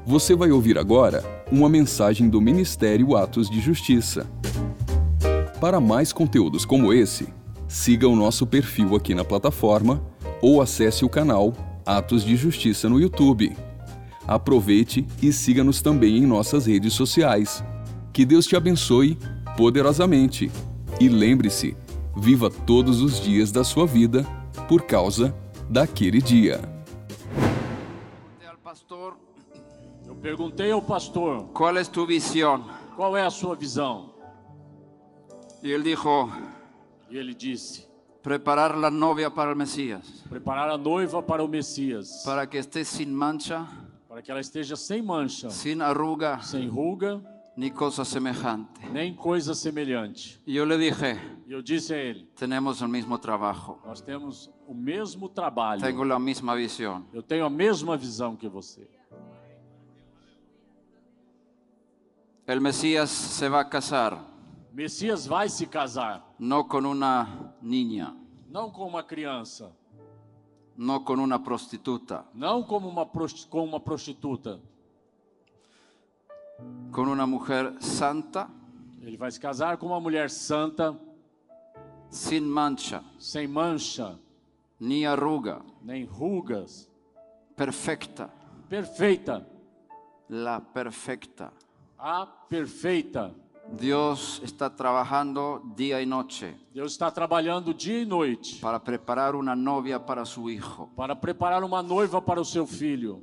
Você vai ouvir agora uma mensagem do Ministério Atos de Justiça. Para mais conteúdos como esse, siga o nosso perfil aqui na plataforma ou acesse o canal Atos de Justiça no YouTube. Aproveite e siga-nos também em nossas redes sociais. Que Deus te abençoe poderosamente. E lembre-se, viva todos os dias da sua vida por causa daquele dia. Eu perguntei ao pastor, ¿Cuál es tu visión? qual é a sua visão? Y él dijo, E ele disse, preparar la novia para el Mesías, preparar a noiva para o Messias, para que esté sin mancha, para que ela esteja sem mancha, sin arruga, sem ruga, ni cosa semejante. nem coisa semelhante. Y yo le dije, E eu disse a ele, tenemos el mismo trabajo, nós temos o mesmo trabalho. tengo la misma visión. Eu tenho a mesma visão que você. El Mesías se va a casar, O Messias vai se casar, no con una niña, não com uma criança, no con una prostituta, não como com uma prostituta. con una mujer santa, Ele vai se casar com uma mulher santa, sin mancha, sem mancha, ni arruga, nem rugas, perfecta, perfeita, la perfecta. a perfeita. Dios está trabajando día y noche Deus está trabalhando dia e noite para preparar una novia para su hijo. para preparar uma noiva para o seu filho.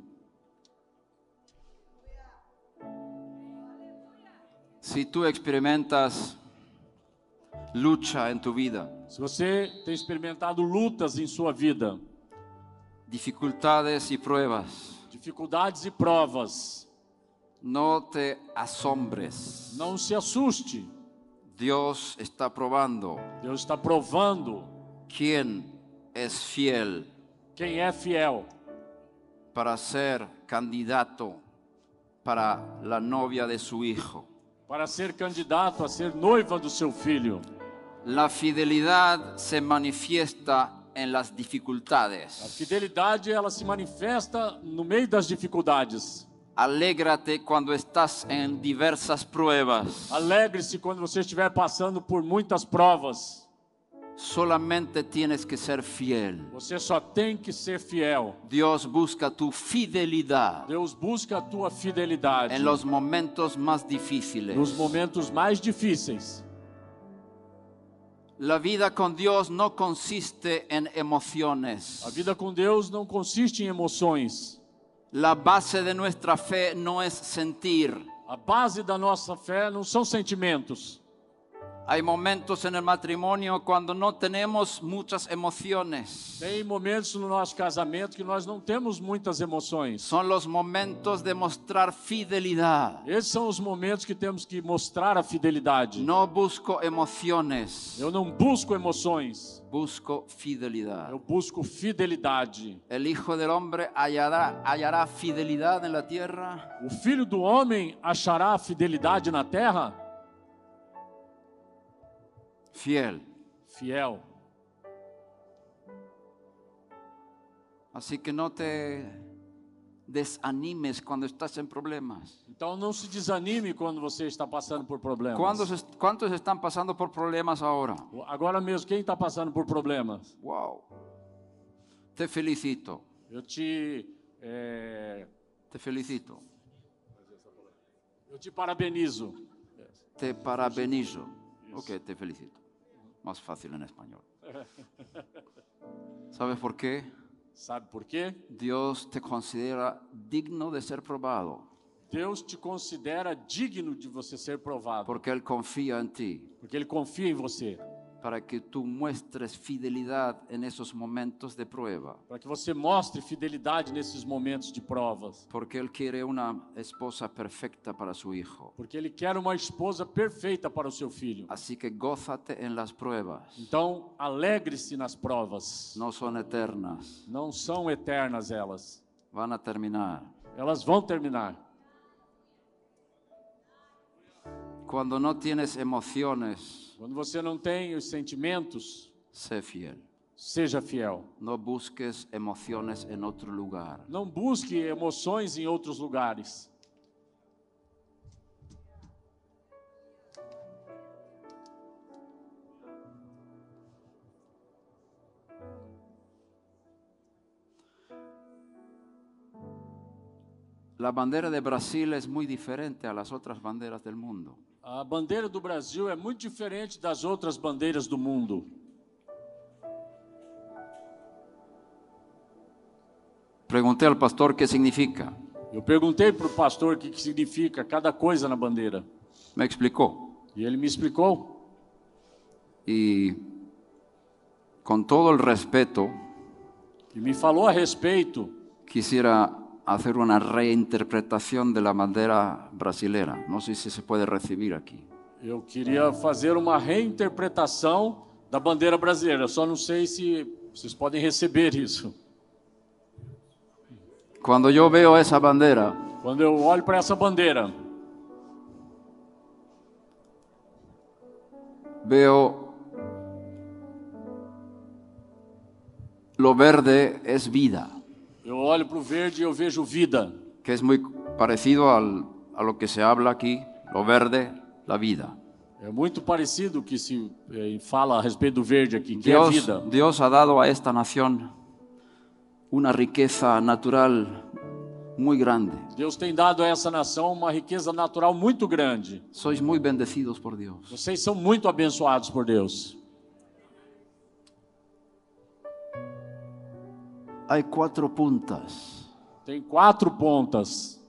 Si tú experimentas lucha en tu vida, Se você tem experimentado lutas em sua vida, dificultades y pruebas, dificuldades e provas, no te asombres. não se assuste. Dios está probando Deus está provando quién es fiel quem é fiel para ser candidato para la novia de su hijo. para ser candidato a ser noiva do seu filho. La fidelidad se manifiesta en las A dificultades. fidelidade, ela se manifesta no meio das dificuldades. Alégrate cuando estás en diversas pruebas. Alegre-se quando você estiver passando por muitas provas. Solamente tienes que ser fiel. Você só tem que ser fiel. Dios busca tu fidelidad Deus busca a tua fidelidade en los momentos más difíciles. nos momentos mais difíceis. La vida con Dios no consiste en emociones. A vida com Deus não consiste em emoções. La base de nuestra fe no es sentir. A base da nossa fé não são sentimentos. Hay momentos en el matrimonio cuando no tenemos muchas emociones. Tem momentos no nosso casamento que nós não temos muitas emoções. Son los momentos de mostrar fidelidad. Esses são os momentos que temos que mostrar a fidelidade. No busco emociones, Eu não busco emoções, busco fidelidad. eu busco fidelidade. El Hijo del Hombre hallará fidelidad en la tierra. O Filho do Homem achará a fidelidade na terra? Fiel. Fiel. Así que no te desanimes cuando estás en problemas. Então não se desanime quando você está passando por problemas. ¿Cuántos están pasando por problemas ahora? Agora mesmo, quem está passando por problemas? Wow. Te felicito. Eu te Felicito. parabenizo. Te parabenizo. Ok, te felicito. Más fácil en español. ¿Sabes por qué? Sabe por quê? Dios te considera digno de ser probado, Deus te considera digno de você ser provado. porque Él confía en ti, Porque Ele confia em você. para que tú muestres fidelidad en esos momentos de prueba, Para que você mostre fidelidade nesses momentos de provas. porque Él quiere una esposa perfecta para su hijo. Porque Ele quer uma esposa perfeita para o seu filho. Así que gózate en las pruebas, Então, alegre-se nas provas. no son eternas, Não são eternas elas. van a terminar. Elas vão terminar. Cuando no tienes emociones, Quando você não tem os sentimentos, sé fiel. seja fiel. No busques emociones en otro lugar. Não busque emoções em outros lugares. La bandera de Brasil es muy diferente a las otras banderas del mundo. A bandeira do Brasil é muito diferente das outras bandeiras do mundo. Pregunté al pastor qué significa. Eu perguntei para o pastor o que significa cada coisa na bandeira. Me explicó. E ele me explicou. Y con todo el respeto, E me falou a respeito. quisiera hacer una reinterpretación de la bandera brasilera. No sé si se puede recibir aquí. Eu queria fazer uma reinterpretação da bandeira brasileira. Eu só não sei se vocês podem receber isso. Cuando yo veo esa bandera, Quando eu olho para essa bandeira, veo lo verde es vida, eu olho para o verde e eu vejo vida. que es muy parecido a lo que se habla aquí, lo verde, la vida. É muito parecido o que se fala a respeito do verde aqui, que é a vida. Dios ha dado a esta nación una riqueza natural muy grande. Deus tem dado a essa nação uma riqueza natural muito grande. Sois muy bendecidos por Dios. Vocês são muito abençoados por Deus. Hay 4 puntas Tem 4 pontas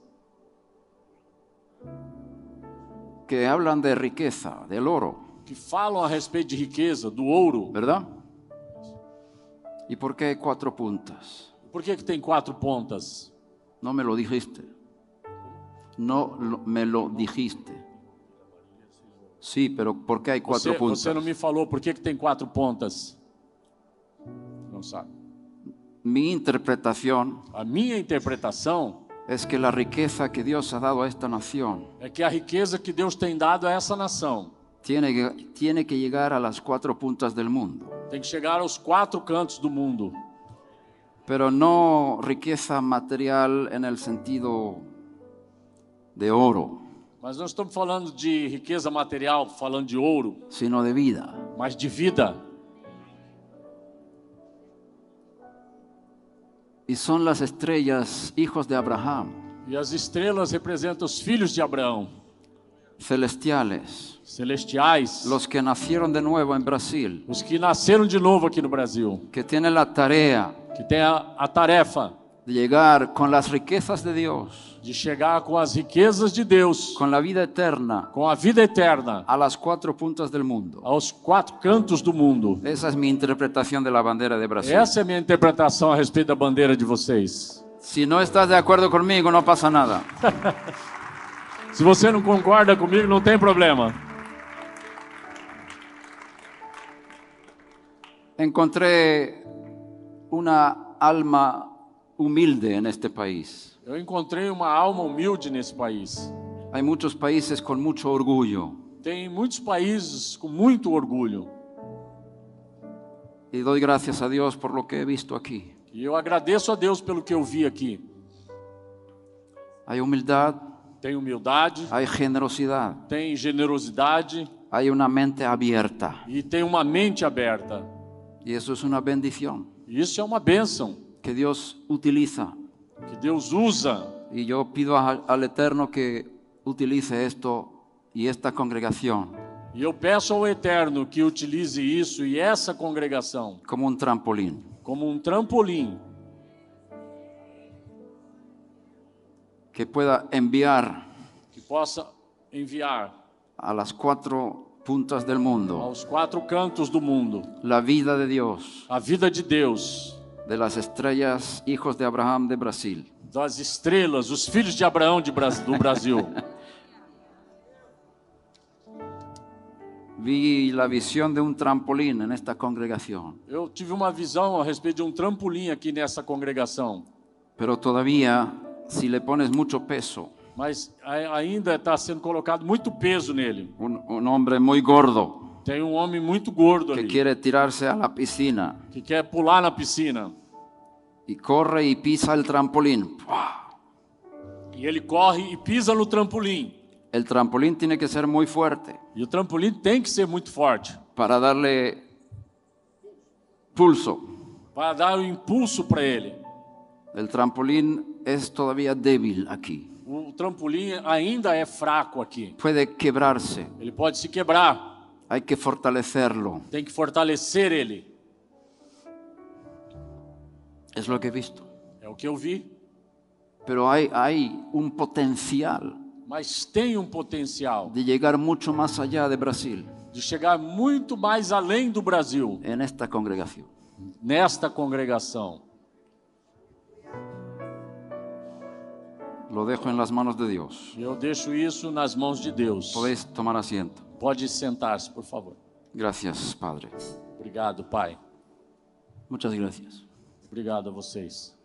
que hablan de riqueza, del oro, que falam a respeito de riqueza, do ouro. ¿verdad? ¿Y por qué hay 4 puntas? Por que tem 4 pontas? No me lo dijiste. Me lo dijiste. Sí, pero ¿por qué hay 4 puntas? Você não me falou por que tem 4 pontas. Não sabe. Mi interpretación A minha interpretação es que la riqueza que Dios ha dado a esta nación é que a riqueza que Deus tem dado a essa nação tiene que llegar a las 4 puntas del mundo. tem que chegar aos 4 cantos do mundo. Pero no riqueza material en el sentido de oro, Mas não estamos falando de riqueza material, falando de ouro, sino de vida. mas de vida. Y son las estrellas, hijos de Abraham, E as estrelas representam os filhos de Abraão, celestiales, celestiais, los que nacieron de nuevo en Brasil, os que nasceram de novo aqui no Brasil, que tienen la tarea que tem a tarefa de llegar con las riquezas de Dios, de chegar com as riquezas de Deus, con la vida eterna, com a vida eterna, a las 4 puntas del mundo. aos 4 cantos do mundo. Esa es mi interpretación de la bandera de Brasil. Essa é a minha interpretação a respeito da bandeira de vocês. Si no estás de acuerdo conmigo, no pasa nada. Se você não concorda comigo, não tem problema. Encontré una alma humilde en este país. Eu encontrei uma alma humilde nesse país. Hay muchos países con mucho orgullo Tem muitos países com muito orgulho. y doy gracias a Dios por lo que he visto aquí. E eu agradeço a Deus pelo que eu vi aqui. Hay humildad, Tem humildade, hay generosidad, tem generosidade hay una mente abierta e tem uma mente aberta. y eso es una bendición E isso é uma bênção que Dios utiliza. que Deus usa. Y yo pido al Eterno que utilice esto y esta congregación E eu peço ao Eterno que utilize isso e essa congregação como un trampolín. como um trampolim, Que pueda enviar que possa enviar a las 4 puntas del mundo aos 4 cantos do mundo la vida de Dios, a vida de Deus, de las estrellas, hijos de Abraham de Brasil. das estrelas, os filhos de Abraão do Brasil. Vi la visión de un trampolín en esta congregación, Eu tive uma visão a respeito de um trampolim aqui nessa congregação, pero todavía si le pones mucho peso, mas ainda está sendo colocado muito peso nele. un hombre muy gordo Tem um homem muito gordo que ali, quiere tirarse a la piscina que quer pular na piscina. y corre y pisa el trampolín. E ele corre e pisa no trampolim. El trampolín tiene que ser muy fuerte E o trampolim tem que ser muito forte para darle pulso. para dar o impulso para ele. El trampolín es todavía débil aquí. O trampolim ainda é fraco aqui. puede quebrarse. Ele pode se quebrar. Hay que fortalecerlo. Tem que fortalecer ele. Es lo que he visto. É o que eu vi. Pero hay un potencial Mas tem um potencial de llegar mucho más allá de Brasil de chegar muito mais além do Brasil en esta congregación. nesta congregação. Lo dejo en las manos de Dios. Eu deixo isso nas mãos de Deus. Podéis tomar asiento. Pode sentar-se, por favor. Gracias, Padre. Obrigado, Pai. Muchas gracias. Obrigado a vocês.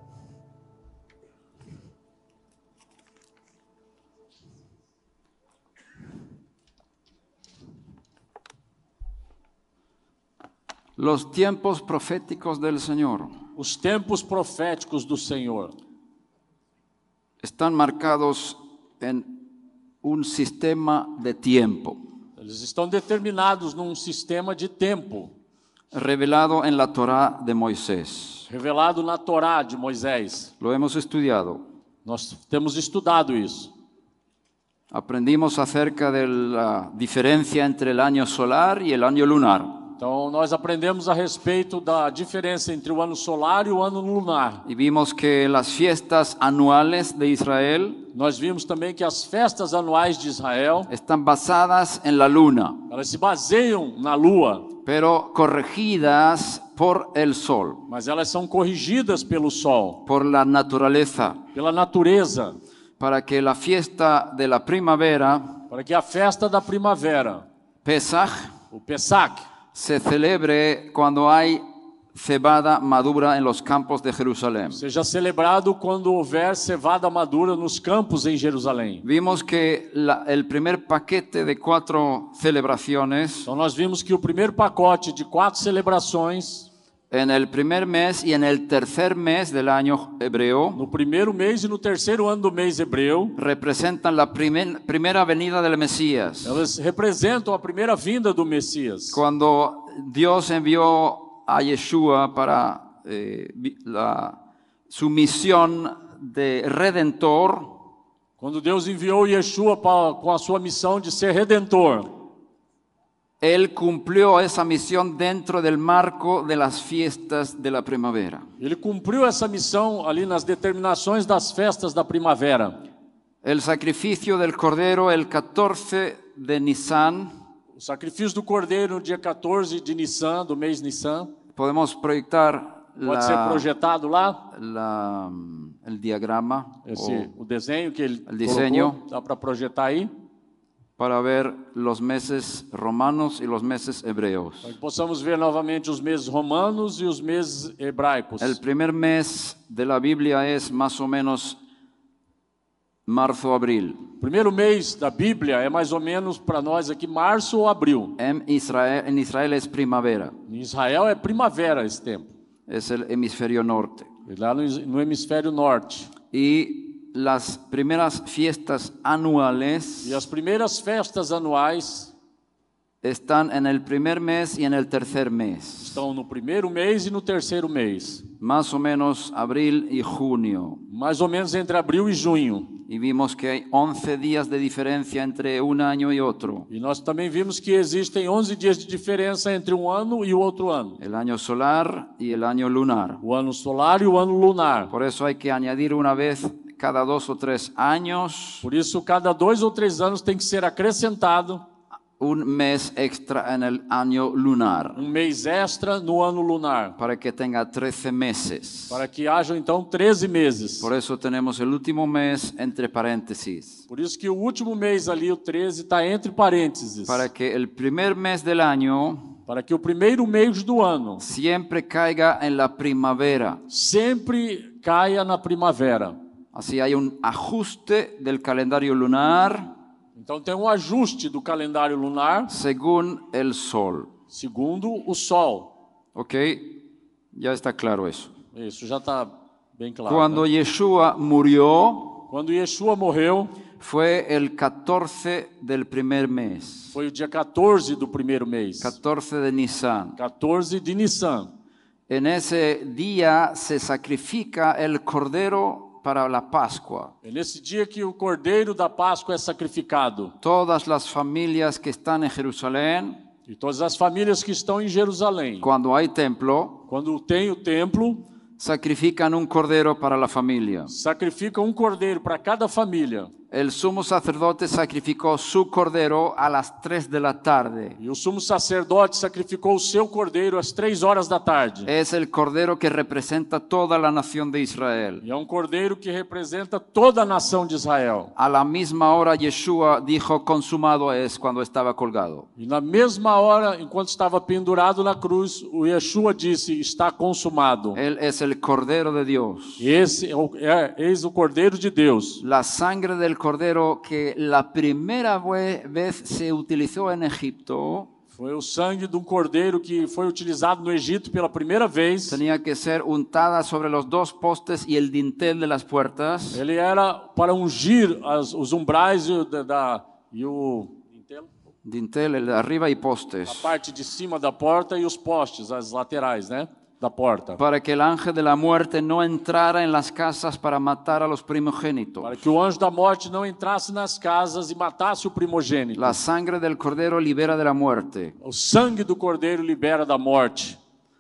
Los tiempos proféticos del Señor Os tempos proféticos do Senhor están marcados en un sistema de tiempo, eles estão determinados num sistema de tempo, revelado en la Torá de Moisés. revelado na Torá de Moisés. Lo hemos estudiado. Nós temos estudado isso. Aprendimos acerca de la diferencia entre el año solar y el año lunar. Então, nós aprendemos a respeito da diferença entre o ano solar e o ano lunar. Y vimos que las fiestas anuales de Israel Nós vimos também que as festas anuais de Israel, están basadas en la luna, elas se baseiam na lua, pero corregidas por el sol, mas elas são corrigidas pelo sol, por la naturaleza, pela natureza, para que la fiesta de la primavera, para que a festa da primavera, Pesach, o Pesach, se celebre cuando hay cebada madura en los campos de Jerusalén. seja celebrado quando houver cevada madura nos campos em Jerusalém. Vimos que el primer paquete de 4 celebraciones Então nós vimos que o primeiro pacote de 4 celebrações, en el primer mes y en el tercer mes del año hebreo no primeiro mês e no terceiro ano do mês hebreu, representan la primera venida del Mesías. elas representam a primeira vinda do Messias. Cuando Dios envió a Yeshua para su misión de redentor, Quando Deus enviou Yeshua com a sua missão de ser redentor, Él cumplió esa misión dentro del marco de las fiestas de la primavera. ele cumpriu essa missão ali nas determinações das festas da primavera. El sacrificio del Cordero el 14 de Nisan, O sacrifício do Cordeiro no dia 14 de Nissan, do mês Nissan, podemos proyectar pode ser projetado lá, el diagrama o desenho que ele diseño. colocou, dá para projetar aí, para ver los meses romanos y los meses hebreos. para que possamos ver novamente os meses romanos e os meses hebraicos. El primer mes de la Biblia es más o menos marzo-abril. O primeiro mês da Bíblia é mais ou menos para nós aqui março ou abril. En Israel es primavera, Em Israel é primavera esse tempo, es el hemisferio norte. e lá no hemisfério norte. Y las primeras fiestas anuales E as primeiras festas anuais están en el primer mes y en el tercer mes, estão no primeiro mês e no terceiro mês, más o menos abril y junio. mais ou menos entre abril e junho. Y vimos que hay 11 días de diferencia entre un año y otro. E nós também vimos que existem 11 dias de diferença entre um ano e o outro ano. El año solar y el año lunar. O ano solar e o ano lunar. Por eso hay que añadir una vez cada 2 o 3 años Por isso, cada 2 ou 3 anos tem que ser acrescentado un mes extra en el año lunar, um mês extra no ano lunar, para que tenga 13 meses. para que hajam então 13 meses. Por eso tenemos el último mes entre paréntesis, Por isso que o último mês ali, o 13, está entre parênteses. para que el primer mes del año Para que o primeiro mês do ano siempre caiga en la primavera. sempre caia na primavera. Así hay un ajuste del calendario lunar Então tem um ajuste do calendário lunar según el sol. segundo o sol. ¿Ok? Ya está claro eso. Isso já está bem claro. Cuando Né? Yeshua murió, Quando Yeshua morreu, fue el 14 del primer mes, foi o dia 14 do primeiro mês. 14 de Nisan. 14 de Nissan. En ese día se sacrifica el cordero para la Pascua. É nesse dia que o cordeiro da Páscoa é sacrificado. Todas las familias que están en Jerusalén, E todas as famílias que estão em Jerusalém, cuando hay templo, quando tem o templo, sacrifican un cordero para la familia. sacrificam um cordeiro para cada família. El sumo sacerdote sacrificó su cordero a las 3 de la tarde. E o sumo sacerdote sacrificou o seu cordeiro às 3 horas da tarde. Es el cordero que representa toda la nación de Israel. E é um cordeiro que representa toda a nação de Israel. A la misma hora Yeshua dijo consumado es cuando estaba colgado. E na mesma hora, enquanto estava pendurado na cruz, o Yeshua disse, está consumado. Él es el cordero de Dios. Esse eis o cordeiro de Deus. La sangre del cordero que la primera vez se utilizó en Egipto Foi o sangue de um cordeiro que foi utilizado no Egito pela primeira vez. tenía que ser untada sobre los dos postes y el dintel de las puertas. Ele era para ungir os umbrais e o Dintel, el de arriba y a postes. parte de cima da porta e os postes, as laterais, né, da porta. Para que el ángel de la muerte no entrara en las casas para matar a los primogénitos. Para que o anjo da morte não entrasse nas casas e matasse o primogênito. La sangre del cordero libera de la muerte. O sangue do cordeiro libera da morte.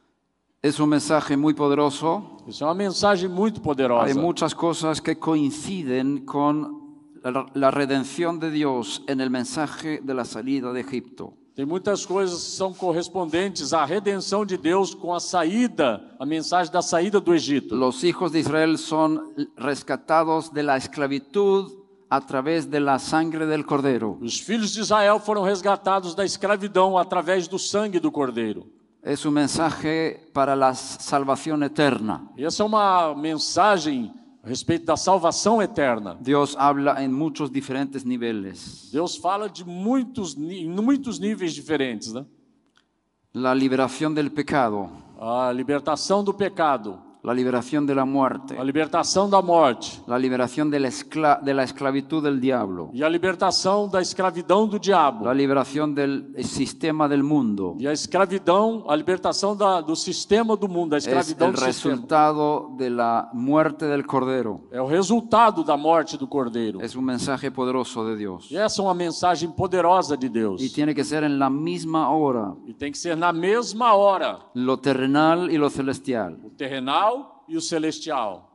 Es un mensaje muy poderoso. Isso é uma mensagem muito poderosa. Hay muchas cosas que coinciden con la redención de Dios en el mensaje de la salida de Egipto. Tem muitas coisas que são correspondentes à redenção de Deus com a saída, a mensagem da saída do Egito. Los hijos de Israel son rescatados de la esclavitud a través de la sangre del cordero. Os filhos de Israel foram resgatados da escravidão através do sangue do cordeiro. Es un mensaje para la salvación eterna. E essa é uma mensagem a respeito da salvação eterna. Dios habla en muchos diferentes niveles. Deus fala de muitos níveis diferentes, né? La liberación del pecado, A libertação do pecado, la liberación de la muerte, a libertação da morte la liberación de la esclavitud del diablo, e a libertação da escravidão do diabo. la liberación del sistema del mundo. E a escravidão, a libertação do sistema do mundo, a Es escravidão el do sistema. resultado de la muerte del cordero. É o resultado da morte do cordeiro. Es un mensaje poderoso de Dios. E essa é uma mensagem poderosa de Deus. Y tiene que ser en la misma hora, E tem que ser na mesma hora, lo terrenal y lo celestial. o terrenal e o celestial.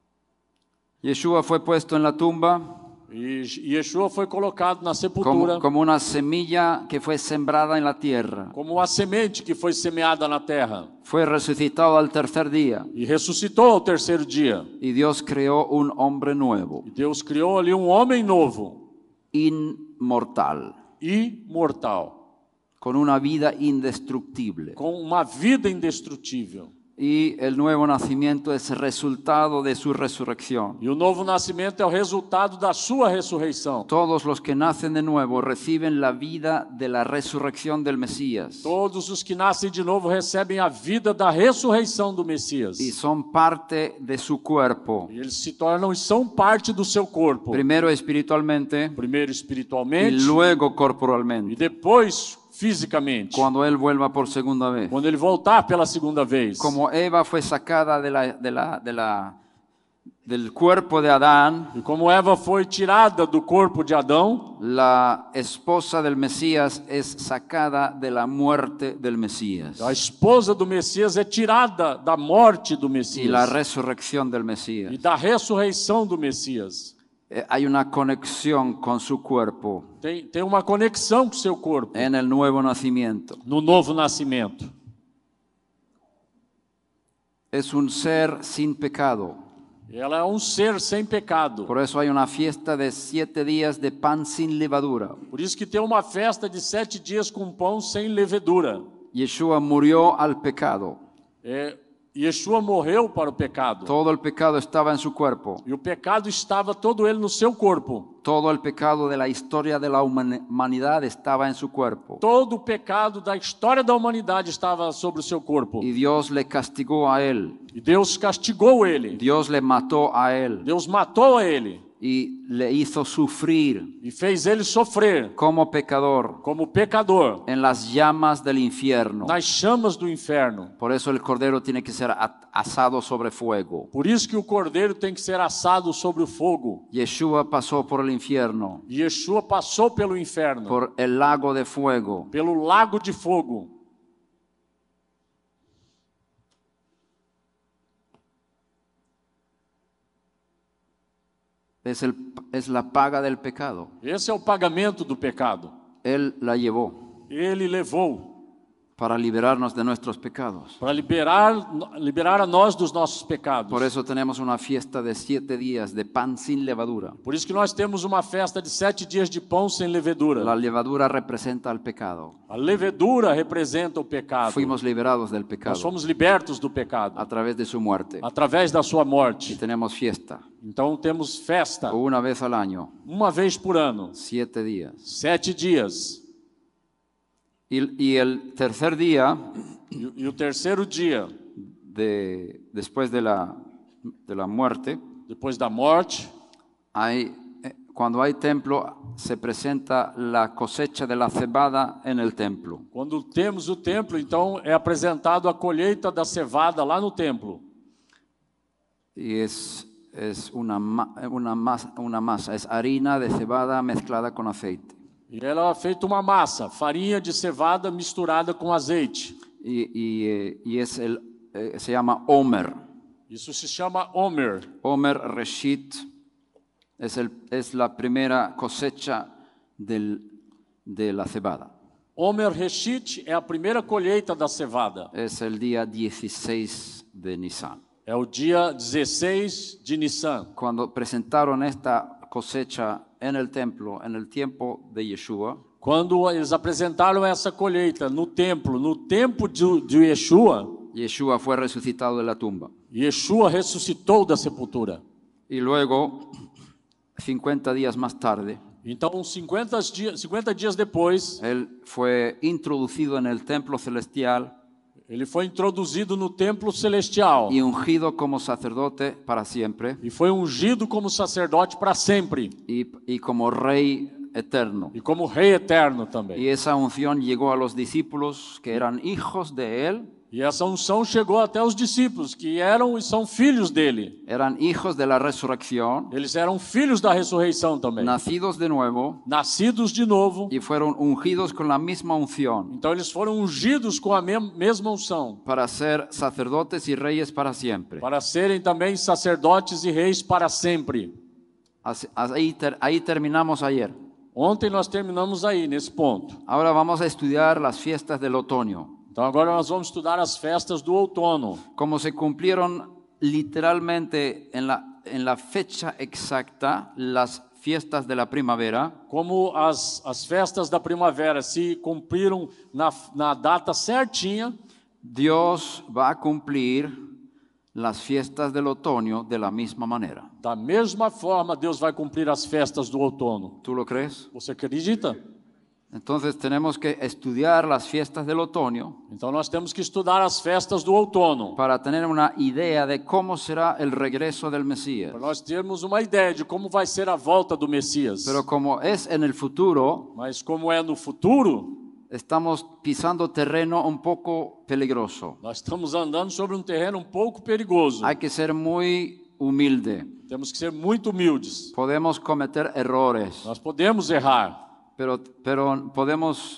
Yeshua fue puesto en la tumba E Yeshua foi colocado na sepultura como una semilla que fue sembrada en la tierra. como uma semente que foi semeada na terra. Fue resucitado al tercer día E ressuscitou ao terceiro dia. y Dios creó un hombre nuevo, E Deus criou ali um homem novo, inmortal, imortal, con una vida indestructible. com uma vida indestrutível. Y el nuevo nacimiento es el resultado de su resurrección. E o novo nascimento é o resultado da sua ressurreição. Todos los que nacen de nuevo reciben la vida de la resurrección del Mesías Todos os que nascem de novo recebem a vida da ressurreição do Messias. y son parte de su cuerpo. E eles se tornam e são parte do seu corpo. Primero espiritualmente Primeiro y espiritualmente luego e corporalmente, depois fisicamente. cuando Él vuelva por segunda vez. Quando ele voltar pela segunda vez. Como Eva fue sacada del cuerpo de Adán, E como Eva foi tirada do corpo de Adão, la esposa del Mesías es sacada de la muerte del Mesías a esposa do Messias é tirada da morte do y la Messias resurrección del e Mesías. da ressurreição do Messias. Hay una conexión con su cuerpo Tem uma conexão com o seu corpo en el nuevo nacimiento. no novo nascimento. Es un ser sin pecado. Ela é um ser sem pecado. Por eso hay una fiesta de 7 días de pan sin levadura. Por isso que tem uma festa de 7 dias com pão sem levedura. Yeshua murió al pecado. Yeshua morreu para o pecado. Todo el pecado estaba en su cuerpo. E o pecado estava todo ele no seu corpo. Todo el pecado de la historia de la humanidad estaba en su cuerpo. Todo o pecado da história da humanidade estava sobre o seu corpo. Y Dios le castigó a él. E Deus castigou ele. Dios le mató a él. Deus matou a ele. y le hizo sufrir e fez ele sofrer como pecador como pecador en las llamas del infierno. nas chamas do inferno. Por eso el cordero tiene que ser asado sobre fuego. Por isso que o cordeiro tem que ser assado sobre o fogo. Yeshua pasó por el infierno, Yeshua passou pelo inferno, por el lago de fuego. pelo lago de fogo. Es la paga del pecado. Esse é o pagamento do pecado. Él la llevó Ele levou para liberarnos de nuestros pecados. para liberar a nós dos nossos pecados. Por eso tenemos una fiesta de 7 días de pan sin levadura. Por isso que nós temos uma festa de 7 dias de pão sem levedura. La levadura representa el pecado. A levedura representa o pecado. Fuimos liberados del Nós pecado fomos libertos do pecado a través de su muerte. através da sua Y morte. tenemos fiesta Então temos festa una vez al año, uma vez por ano, 7 días. 7 dias. Y el tercer día, E o terceiro dia, después de la muerte, depois da morte, cuando hay templo, se presenta la cosecha de la cebada en el templo. quando temos o templo, então é apresentado a colheita da cevada lá no templo. Y es una masa, es harina de cebada mezclada con aceite. E ela é feita uma massa, farinha de cevada misturada com azeite. Se llama Omer. Isso se chama Omer. Omer Reshit es la primera cosecha de la cebada. Omer Reshit é a primeira colheita da cevada. Es el día 16 de Nisan. É o dia 16 de Nissan. Cuando presentaron esta cosecha en el templo, en el tiempo de Yeshua, Quando eles apresentaram essa colheita no tempo de Yeshua, Yeshua fue resucitado de la tumba. Yeshua ressuscitou da sepultura. Y luego, 50 días más tarde, Então, 50 dias depois, él fue introducido en el templo celestial ele foi introduzido no templo celestial y ungido como sacerdote para siempre e foi ungido como sacerdote para sempre y como rey eterno. e como rei eterno também. Y esa unción llegó a los discípulos que eran hijos de él, E essa unção chegou até os discípulos, que eram e são filhos dele. eran hijos de la resurrección, Eles eram filhos da ressurreição também, nacidos de nuevo nascidos de novo. y fueron ungidos con la misma unción Então eles foram ungidos com a mesma unção, para ser sacerdotes y reyes para siempre. para serem também sacerdotes e reis para sempre. Ahí terminamos ayer. Ontem nós terminamos aí, nesse ponto. Ahora vamos a estudiar las fiestas del otoño. Então agora nós vamos estudar as festas do outono. Como se cumplieron literalmente en la fecha exacta las fiestas de la primavera, Como as festas da primavera se cumpriram na data certinha, Dios va a cumplir las fiestas del otoño de la misma manera. da mesma forma Deus vai cumprir as festas do outono. ¿Tú lo crees? Você acredita? Entonces tenemos que estudiar las fiestas del otoño Então nós temos que estudar as festas do outono, para tener una idea de cómo será el regreso del Mesías. para nós termos uma ideia de como vai ser a volta do Messias. Pero como es en el futuro, Mas como é no futuro, estamos pisando terreno un poco peligroso. nós estamos andando sobre um terreno um pouco perigoso. Hay que ser muy humilde. Temos que ser muito humildes. Podemos cometer errores, Nós podemos errar, pero podemos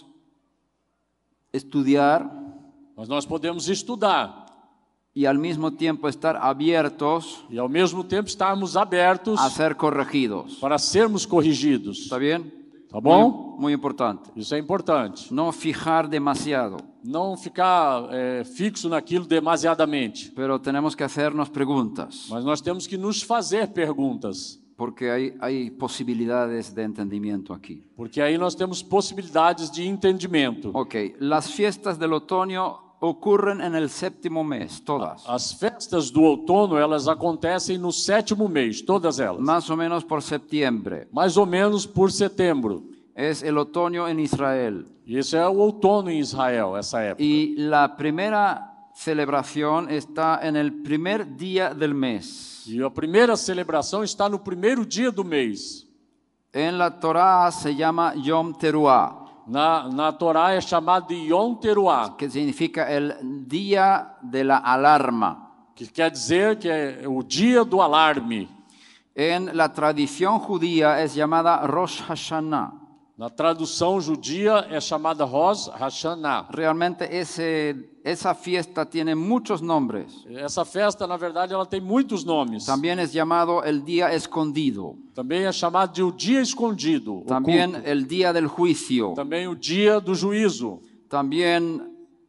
estudiar mas nós podemos estudar y al mismo tiempo estar abiertos e ao mesmo tempo estarmos abertos a ser corregidos. para sermos corrigidos. ¿Está bien? Tá bom? Muy importante. Isso é importante. No fijar demasiado, Não ficar fixo naquilo demasiadamente. pero tenemos que hacernos preguntas, Mas nós temos que nos fazer perguntas, porque hay posibilidades de entendimiento aquí. porque aí nós temos possibilidades de entendimento. Ok, las fiestas del otoño ocurren en el séptimo mes, todas. As festas do outono, elas acontecem no 7º mês, todas elas. Más o menos por septiembre. Mais ou menos por setembro. Es el otoño en Israel. E esse é o outono em Israel, essa época. Y la primera celebración está en el primer día del mes. E a primeira celebração está no primeiro dia do mês. En la Torá se llama Yom Teruah, Na Torá é chamado de Yom Teruah, que significa el día de la alarma. que quer dizer que é o dia do alarme. En la tradición judía es llamada Rosh Hashanah. Na tradução judia é chamada Rosh Hashanah. Realmente esa fiesta tiene muchos nombres. Essa festa, na verdade, ela tem muitos nomes. También es llamado el día escondido. Também é chamado de o dia escondido. También oculto. el día del juicio. Também o dia do juízo. También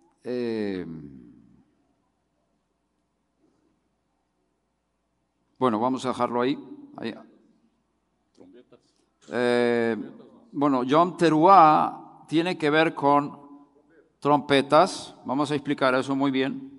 bueno, vamos a dejarlo ahí. Bueno, Yom Teruah tiene que ver con trompetas. Vamos a explicar eso muy bien.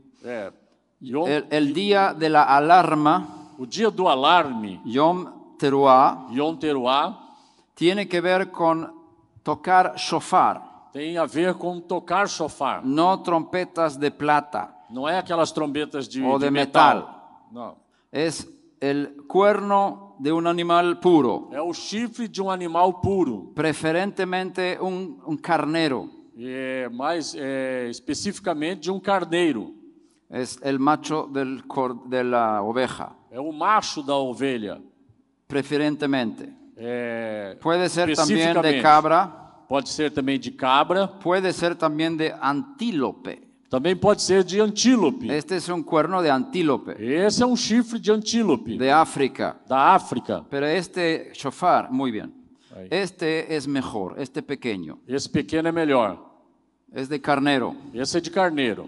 El día de la alarma, O dia do alarme, Yom Teruah, Yom Teruah, tiene que ver con tocar shofar, tem a ver com tocar shofar. no trompetas de plata Não é aquelas trombetas de, o de metal. metal. Não. Es el cuerno de un animal puro, É o chifre de um animal puro. preferentemente un carnero. Mais especificamente de um carneiro. Es el macho de la oveja, É o macho da ovelha. preferentemente. Puede ser también de Especificamente. cabra, Pode ser também de cabra. puede ser también de antílope. Também pode ser de antílope. Este es un cuerno de antílope, Esse é um chifre de antílope. de África. Da África. Pero este shofar, muy bien. Ahí. Este es mejor, este pequeño. Esse pequeno é melhor. Es de carnero. Esse é de carneiro.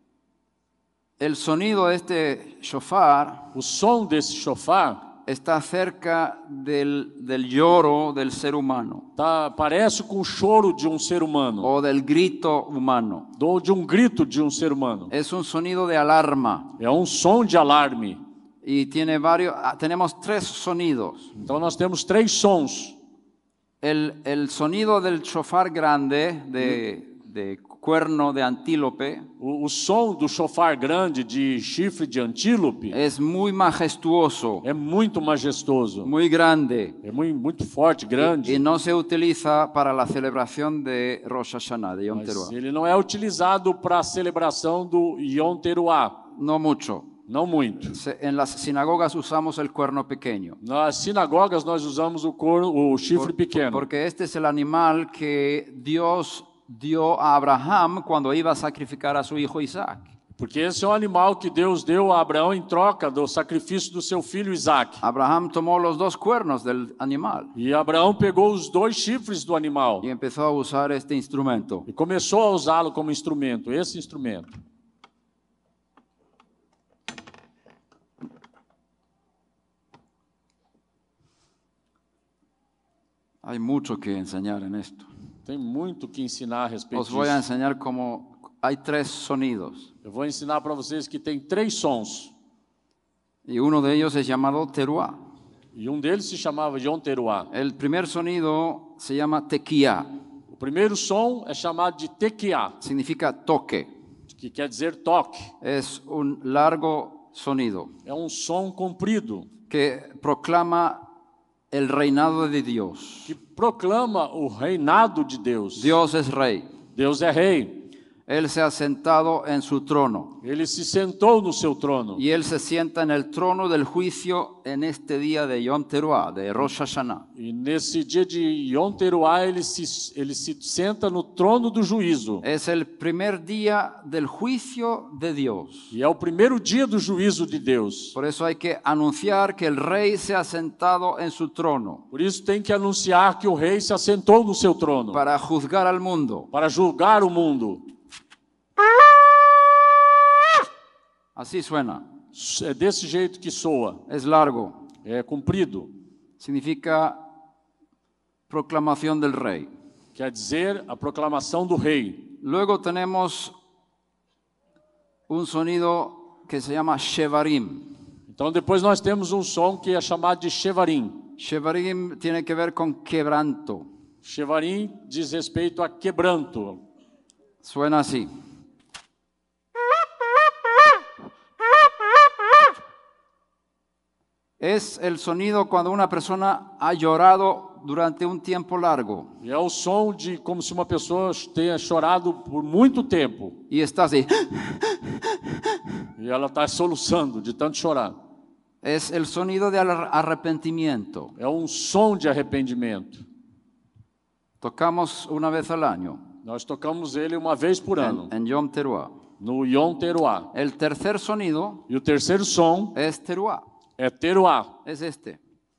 El sonido de este shofar O som desse shofar está cerca del lloro del ser humano parece com o choro de um ser humano. o del grito humano. Ou de um grito de um ser humano. Es un sonido de alarma É um som de alarme. y tenemos tres sonidos. Então nós temos 3 sons. El sonido del shofar grande de cuerno de antílope O som do shofar grande de chifre de antílope es muy majestuoso, é muito majestoso. muy grande É muito forte, grande. y no se utiliza para la celebración de Rosh Hashanah, de Yom Mas Teruah. ele não é utilizado para a celebração do Yom Teruah. No mucho. Não muito. En las sinagogas usamos el cuerno pequeño. Nas sinagogas nós usamos o chifre pequeno. Porque este es el animal que Dios dio a Abraham cuando iba a sacrificar a su hijo Isaac. Porque esse é um animal que Deus deu a Abraão em troca do sacrifício do seu filho Isaac. Abraham tomó los dos cuernos del animal E Abraão pegou os 2 chifres do animal y empezó a usar este instrumento. e começou a usá-lo como instrumento, esse instrumento. Hay mucho que enseñar en esto. Tem muito que ensinar a respeito Os voy a disso. enseñar cómo hay tres sonidos Eu vou ensinar para vocês que tem 3 sons. y uno de ellos es llamado teruah. E um deles se chamava Yom Teruah. El primer sonido se llama tequía, O primeiro som é chamado de tequiá, significa toque. que quer dizer toque. Es un largo sonido É um som comprido que proclama el reinado de Dios. que proclama o reinado de Deus. Dios es rey. Deus é rei. Él se ha sentado en su trono Ele se sentou no seu trono. y Él se sienta en el trono del juicio en este día de Yom Teruah, de Rosh Hashanah. E nesse dia de Yom Teruah, ele se senta no trono do juízo. Es el primer día del juicio de Dios. E é o primeiro dia do juízo de Deus. Por eso hay que anunciar que el rey se ha sentado en su trono Por isso tem que anunciar que o rei se assentou no seu trono para juzgar al mundo. para julgar o mundo. Así suena. É desse jeito que soa. Es largo. É comprido. Significa proclamación del rey. Quer dizer a proclamação do rei. Luego tenemos un sonido que se llama shevarim. Então depois nós temos um som que é chamado de Shevarim. Shevarim tiene que ver con quebranto. Shevarim diz respeito a quebranto. Suena así. Es el sonido cuando una persona ha llorado durante un tiempo largo. E é o som de como se uma pessoa tenha chorado por muito tempo. Y está así. E ela está soluçando de tanto chorar. Es el sonido de arrepentimiento. É um som de arrependimento. Tocamos una vez al año. Nós tocamos ele uma vez por ano. En Yom Teruah. No Yom Teruah. El tercer sonido. E o terceiro som es Teruah. É Teruah. Es este.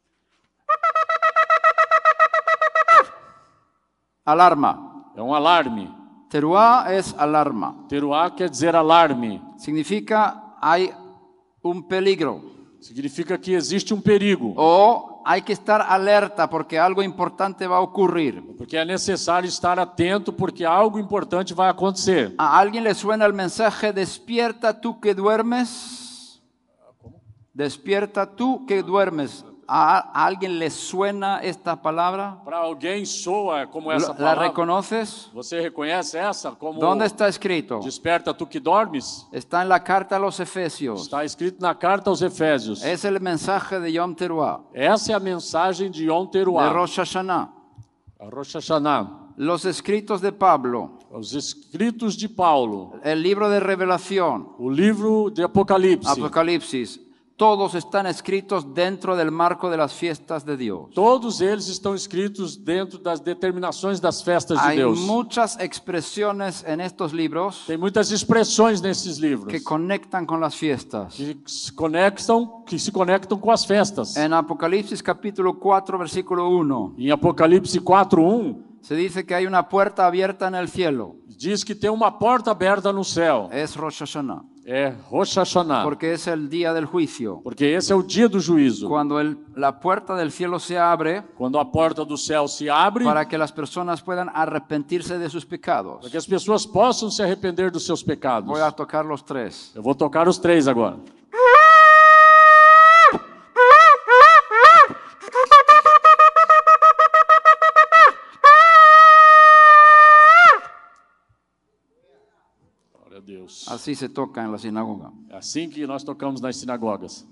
Alarma. É um alarme. Teruah es alarma. Teruah quer dizer alarme. Significa hay un peligro. Significa que existe um perigo. O hay que estar alerta porque algo importante va a ocurrir. Porque é necessário estar atento porque algo importante vai acontecer. ¿A alguien le suena el mensaje despierta tú que duermes? Despierta tú que duermes. ¿A alguien le suena esta palabra? Para alguém soa como essa ¿La palavra? reconoces? Você reconhece essa como ¿Dónde está escrito? desperta tu que dormes? Está en la carta a los Efesios. Está escrito na carta aos Efésios. Es el mensaje de Yom Teruah, Essa é a mensagem de Yom de Teruah. Rosh Hashanah. A Rosh Hashanah. Los escritos de Pablo, Os escritos de Paulo. el libro de Revelación, O livro de Apocalipse. Apocalipsis, todos están escritos dentro del marco de las fiestas de Dios. Todos eles estão escritos dentro das determinações das festas de Hay Deus. muchas expresiones en estos libros Tem muitas expressões nesses livros que conectan con las fiestas. que se conectam com as festas. En Apocalipsis capítulo 4, versículo 1, Em Apocalipse 4:1 se dice que hay una puerta abierta en el cielo. diz que tem uma porta aberta no céu. Es Rosh Hashanah, É Rosh Hashanah. porque es el día del juicio. Porque esse é o dia do juízo. Cuando la puerta del cielo se abre Quando a porta do céu se abre para que las personas puedan arrepentirse de sus pecados. para que as pessoas possam se arrepender dos seus pecados. Voy a tocar los tres. Eu vou tocar os três agora. Glória a Deus. Así se toca en la sinagoga. É assim que nós tocamos nas sinagogas.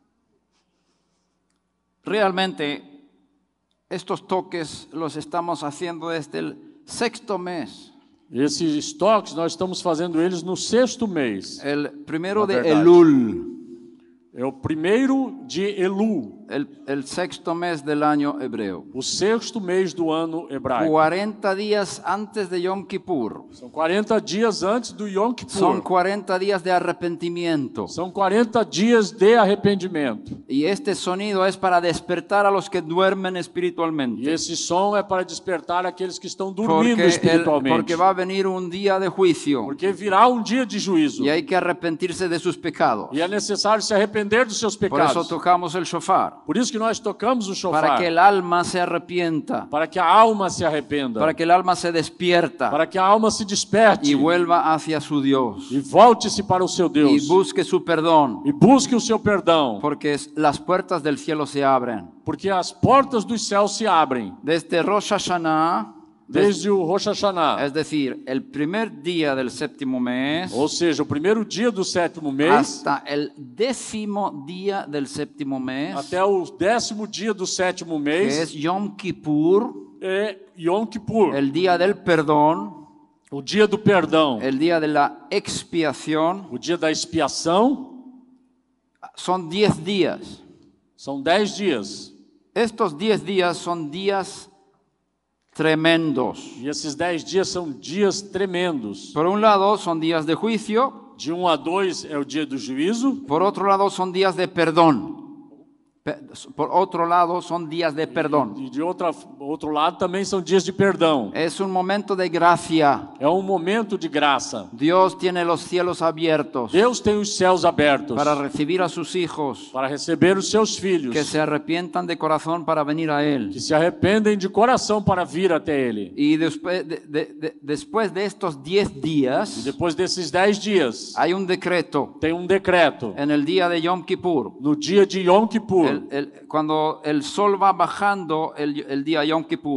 Realmente, estos toques los estamos haciendo desde el sexto mes. Esses toques nós estamos fazendo eles no 6º mês. El primero de verdad. Elul, É o 1º de Elu, el sexto mes del año hebreo. o 6º mês do ano hebraico. 40 días antes de Yom Kippur. São 40 dias antes do Yom Kippur. Son 40 días de arrepentimiento. São 40 dias de arrependimento. Y este sonido es para despertar a los que duermen E espiritualmente. esse som é para despertar aqueles que estão dormindo espiritualmente. Porque va a venir un día de juicio Porque virá um dia de juízo. y hay que arrepentirse de sus pecados. E é necessário se arrepender dos seus Por pecados. eso tocamos el shofar. Por isso que nós tocamos o Para shofar. que el alma se arrepienta. Para que a alma se arrependa. Para que el alma se despierta Para que a alma se desperte. y vuelva hacia su Dios. E volte-se para o seu Deus. Y busque su perdón. E busque o seu perdão. Porque las puertas del cielo se abren. Porque as portas dos céus se abrem. Desde Rosh Hashanah, Desde o Rosh Hashanah. es decir, el primer día del séptimo mes, Ou seja, o primeiro dia do 7º mês hasta el 10º día del séptimo mes, até o 10º dia do 7º que mês es Yom Kippur, é Yom Kippur, el día del perdón, o dia do perdão, el día de la expiación. o dia da expiação. Son 10 días. São 10 dias. Estos 10 días son días tremendos. E esses 10 dias são dias tremendos. Por un lado, son días de juicio. De 1 a 2 é o dia do juízo. Por otro lado, son días de perdón. Por otro lado, son días de perdón. E de outro lado também são dias de perdão. Es un momento de gracia. É um momento de graça. Dios tiene los cielos abiertos Deus tem os céus abertos para recibir a sus hijos para receber os seus filhos que se arrepientan de corazón para venir a Él. que se arrependem de coração para vir até Ele. Y después de estos 10 E días, depois desses 10 dias, hay un decreto tem um decreto. en el día de Yom Kippur. No dia de Yom Kippur, Cuando el sol va bajando el día Yom Kippur,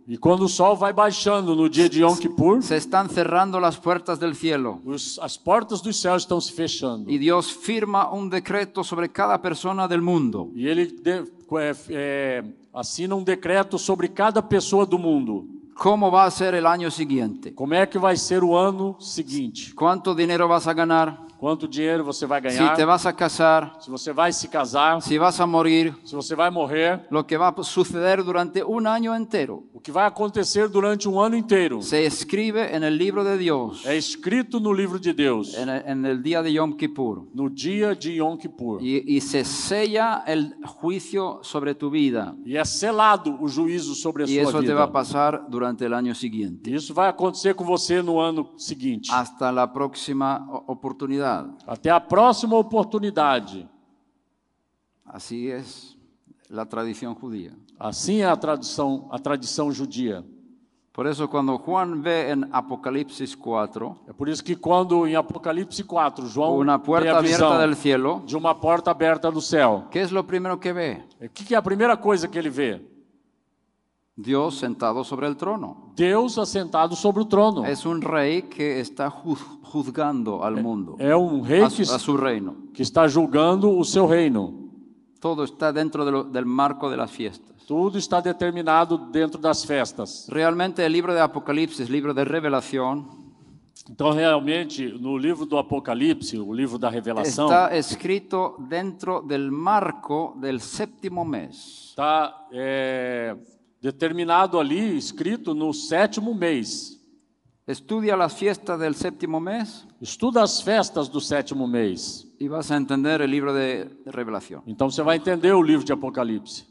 E quando o sol vai baixando no dia de Yom Kippur, se están cerrando las puertas del cielo. as portas dos céus estão se fechando. Y Dios firma un decreto sobre cada persona del mundo. E ele assina um decreto sobre cada pessoa do mundo. ¿Cómo va a ser el año siguiente? Como é que vai ser o ano seguinte? ¿Cuánto dinero vas a ganar? Quanto dinheiro você vai Si ganhar? te vas a casar, Se você vai se casar? si vas a morir, Se você vai morrer? lo que va a suceder durante un año entero. O que vai acontecer durante um ano inteiro? Se escribe en el libro de Dios, É escrito no livro de Deus, en el día de Yom Kippur. no dia de Yom Kippur. Y se sella el juicio sobre tu vida. E é selado o juízo sobre a Y sua eso te va a vida. pasar durante el año siguiente. Isso vai acontecer com você no ano seguinte. Hasta la próxima oportunidad. Até a próxima oportunidade. Así es la tradición judía. Assim é a tradição judia. Por eso cuando Juan ve en Apocalipsis 4 É por isso que quando em Apocalipse 4, João una tem puerta a visão abierta del cielo, de uma porta aberta do céu. ¿qué es lo primero que ve? O que é a primeira coisa que ele vê? Dios sentado sobre el trono. Deus assentado sobre o trono. Es un rey que está juzgando al mundo, É um rei a su reino. que está julgando o seu reino. Todo está dentro del marco de las fiestas. Tudo está determinado dentro das festas. Realmente el libro de Apocalipsis, libro de revelación, Então, realmente, no livro do Apocalipse, o livro da Revelação, está escrito dentro del marco del séptimo mes. está determinado ali, escrito no 7º mês. Estudia las fiestas del séptimo mes Estuda as festas do 7º mês. y vas a entender el libro de revelación. Então você vai entender o livro de Apocalipse.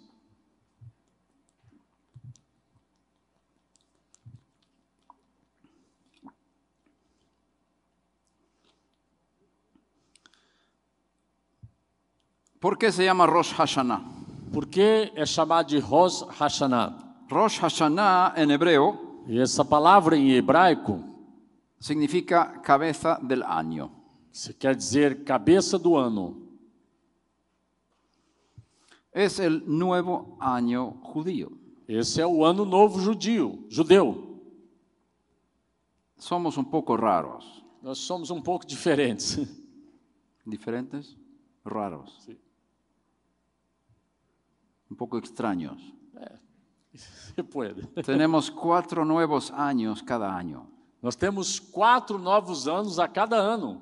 ¿Por qué se llama Rosh Hashanah? Por que é chamado de Rosh Hashanah? Rosh Hashanah en hebreo E essa palavra em hebraico significa cabeza del año. quer dizer cabeça do ano. Es el nuevo año judío. Esse é o ano novo judeu. Somos un poco raros. Nós somos um pouco diferentes. ¿Diferentes? Raros. Sí. Un poco extraños. Se pode. Tenemos 4 nuevos años cada año. Nós temos 4 novos anos a cada ano.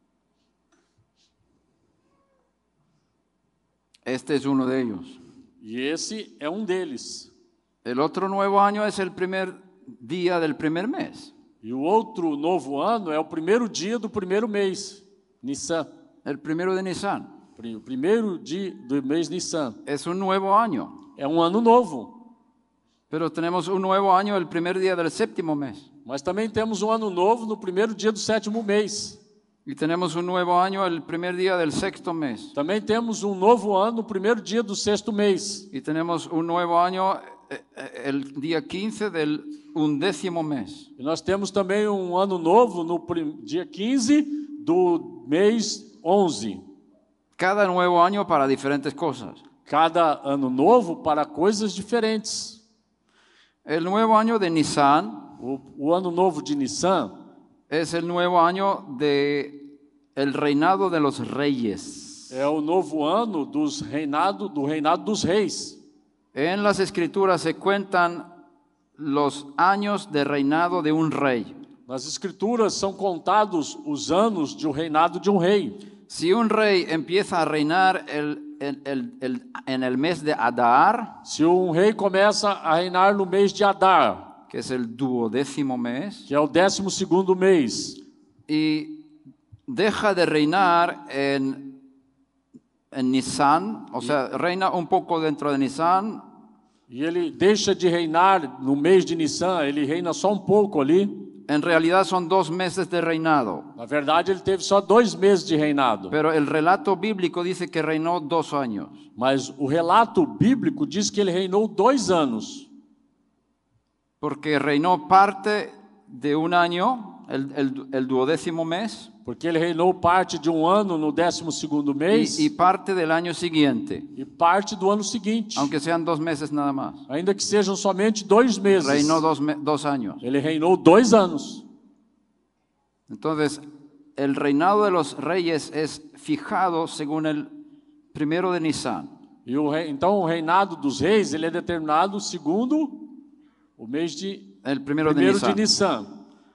Este es uno de ellos. E esse é um deles. El otro nuevo año es el primer día del primer mes. E o outro novo ano é o primeiro dia do primeiro mês, Nissan. El primero de Nisan. O primeiro dia do mês Nissan. Es un nuevo año. É um ano novo. Pero tenemos un nuevo año el primer día del séptimo mes. Mas também temos um ano novo no primeiro dia do 7º mês. Y tenemos un nuevo año el primer día del sexto mes. Também temos um novo ano no primeiro dia do 6º mês. Y tenemos un nuevo año el día 15 del 11º mes. E nós temos também um ano novo no dia 15 do mês 11. Cada nuevo año para diferentes cosas. Cada ano novo para coisas diferentes. El nuevo año de Nisan O ano novo de Nissan es el nuevo año de el reinado de los reyes. é o novo ano do reinado dos reis. En las escrituras se cuentan los años de reinado de un rey. Nas escrituras são contados os anos de reinado de um rei. Si un rey empieza a reinar en el mes de Adar, Se um rei começa a reinar no mês de Adar, que es el 12º mes, que é o 12º mês, y deja de reinar en Nisan, o sea, reina un poco dentro de Nisan, e ele deixa de reinar no mês de Nissan, ele reina só um pouco ali. en realidad son 2 meses de reinado. Na verdade, ele teve só 2 meses de reinado. Pero el relato bíblico dice que reinó 2 años. Mas o relato bíblico diz que ele reinou 2 anos. Porque reinó parte de un año el duodécimo mes porque ele reinou parte de um ano no 12º mês y parte del año siguiente, e parte do ano seguinte, aunque sean 2 meses nada más. ainda que sejam somente 2 meses. Reinó 2 años. Ele reinou 2 anos. Entonces, el reinado de los reyes es fijado según el 1 de Nisan. Então o reinado dos reis ele é determinado segundo o mês de El 1º de Nisan.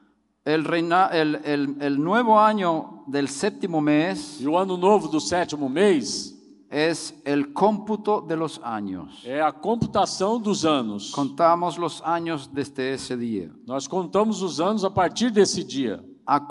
El nuevo año del séptimo mes E o ano novo do 7º mês es el cómputo de los años. é a computação dos anos. Contamos los años desde ese día. Nós contamos os anos a partir desse dia.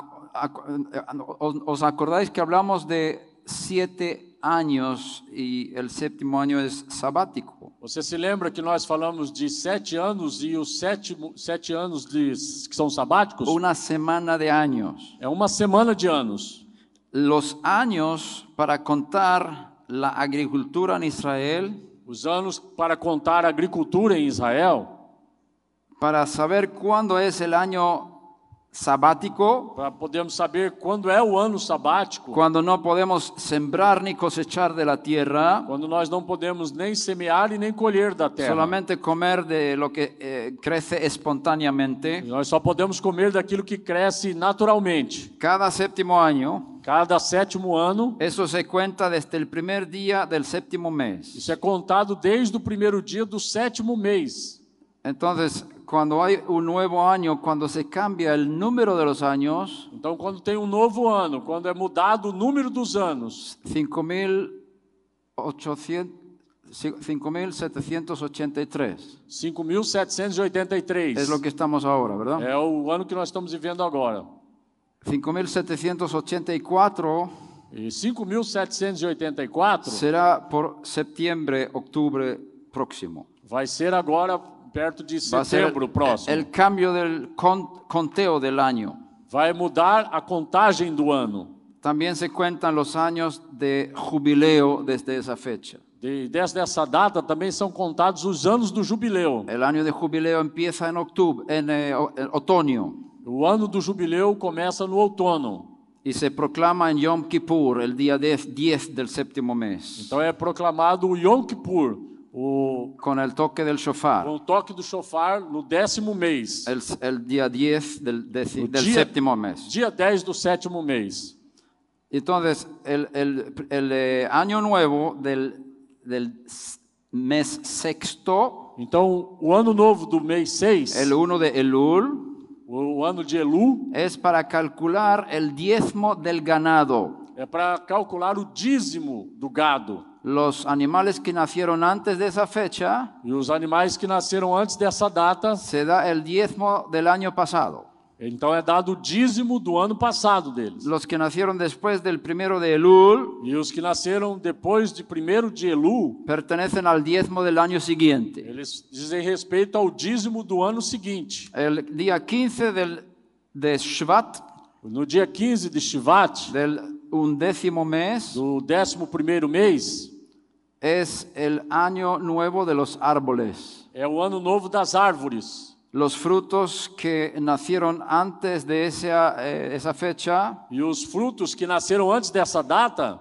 ¿Os acordáis que hablamos de 7 años y el séptimo año es sabático? Você se lembra que nós falamos de 7 anos e os 7 anos que são sabáticos? Una semana de años. É uma semana de anos. Los años para contar la agricultura en Israel, Os anos para contar a agricultura em Israel, para saber cuándo es el año sabático, para podermos saber quando é o ano sabático, cuando no podemos sembrar ni cosechar de la tierra, quando nós não podemos nem semear e nem colher da terra. solamente comer de lo que crece espontáneamente. Nós só podemos comer daquilo que cresce naturalmente. Cada séptimo año, Cada 7º ano, eso se cuenta desde el primer día del séptimo mes. isso é contado desde o primeiro dia do 7º mês. Entonces, cuando hay un nuevo año, cuando se cambia el número de los años, Então, quando tem um novo ano, quando é mudado o número dos anos, 5.783. 5.783. Es lo que estamos ahora, ¿verdad? É o ano que nós estamos vivendo agora. 5.784 E 5.784 será por septiembre, octubre próximo. vai ser agora perto de Va a ser setembro próximo. el cambio del conteo del año. Vai mudar a contagem do ano. También se cuentan los años de jubileo desde esa fecha. Desde essa data também são contados os anos do jubileu. El año de jubileo empieza en octubre, en otoño, O ano do jubileu começa no outono. y se proclama en Yom Kippur, el día 10 del séptimo mes, Então é proclamado o Yom Kippur, con el toque del shofar, com o toque do shofar no 10º mês. el día 10 del dia- séptimo mes. Dia 10 do 7º mês. Entonces, el año nuevo del mes sexto, Então, o ano novo do mês 6, el 1 de Elul, o ano de Elu, es para calcular el diezmo del ganado. é para calcular o dízimo do gado. Los animales que nacieron antes de esa fecha, E os animais que nasceram antes dessa data, se da el diezmo del año pasado. então é dado o dízimo do ano passado deles. Los que nacieron después del 1 de Elul E os que nasceram depois de 1º de Elu, pertenecen al diezmo del año siguiente. eles dizem respeito ao dízimo do ano seguinte. El día 15 de Shvat, No dia 15 de Shivat, del 11º mes, do 11º mês, es el año nuevo de los árboles. é o ano novo das árvores. Los frutos que nacieron antes de esa fecha E os frutos que nasceram antes dessa data,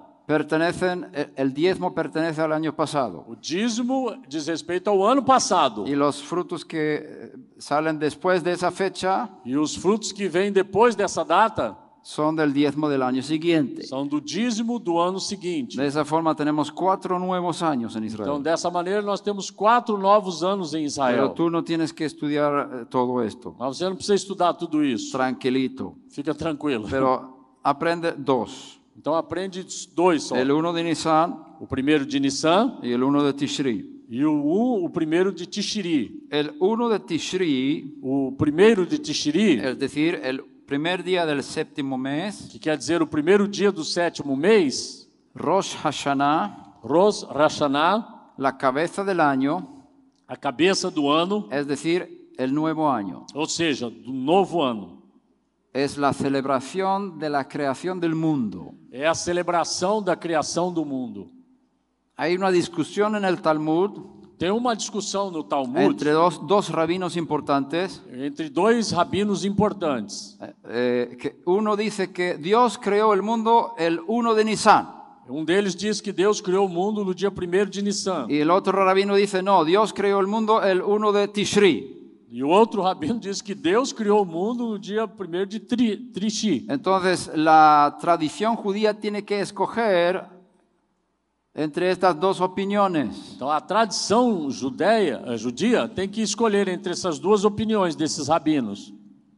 el diezmo pertenece al año pasado. o dízimo diz respeito ao ano passado. Y los frutos que salen después de esa fecha E os frutos que vêm depois dessa data son del diezmo del año siguiente. são do dízimo do ano seguinte. De esa forma tenemos 4 nuevos años en Então, Israel. dessa maneira, nós temos 4 novos anos em Pero Israel. tú no tienes que estudiar todo esto. Mas você não precisa estudar tudo isso. Tranquilito. Fica tranquilo. Pero aprende 2. Então, aprende 2 só. El 1 de Nisan O primeiro de Nissan y el 1 de Tishri. e o primeiro de Tishri. El 1 de Tishri, O primeiro de Tishri, es decir, el primer día del séptimo mes, que quer dizer o primeiro dia do 7º mês, Rosh Hashanah, Rosh Hashanah, la cabeza del año, a cabeça do ano, es decir, el nuevo año. ou seja, do novo ano. Es la celebración de la creación del mundo. É a celebração da criação do mundo. Hay una discusión en el Talmud Tem uma discussão no Talmud entre dos rabinos importantes. entre dois rabinos importantes. Que uno dice que Dios creó el mundo el 1 de Nisan. Um deles diz que Deus criou o mundo no dia 1º de Nissan. Y el otro rabino dice, no, Dios creó el mundo el 1 de Tishri. E o outro rabino diz que Deus criou o mundo no dia 1º de Trishi. Entonces, la tradición judía tiene que escoger entre estas dos opiniones. Então a tradição judia tem que escolher entre essas duas opiniões desses rabinos.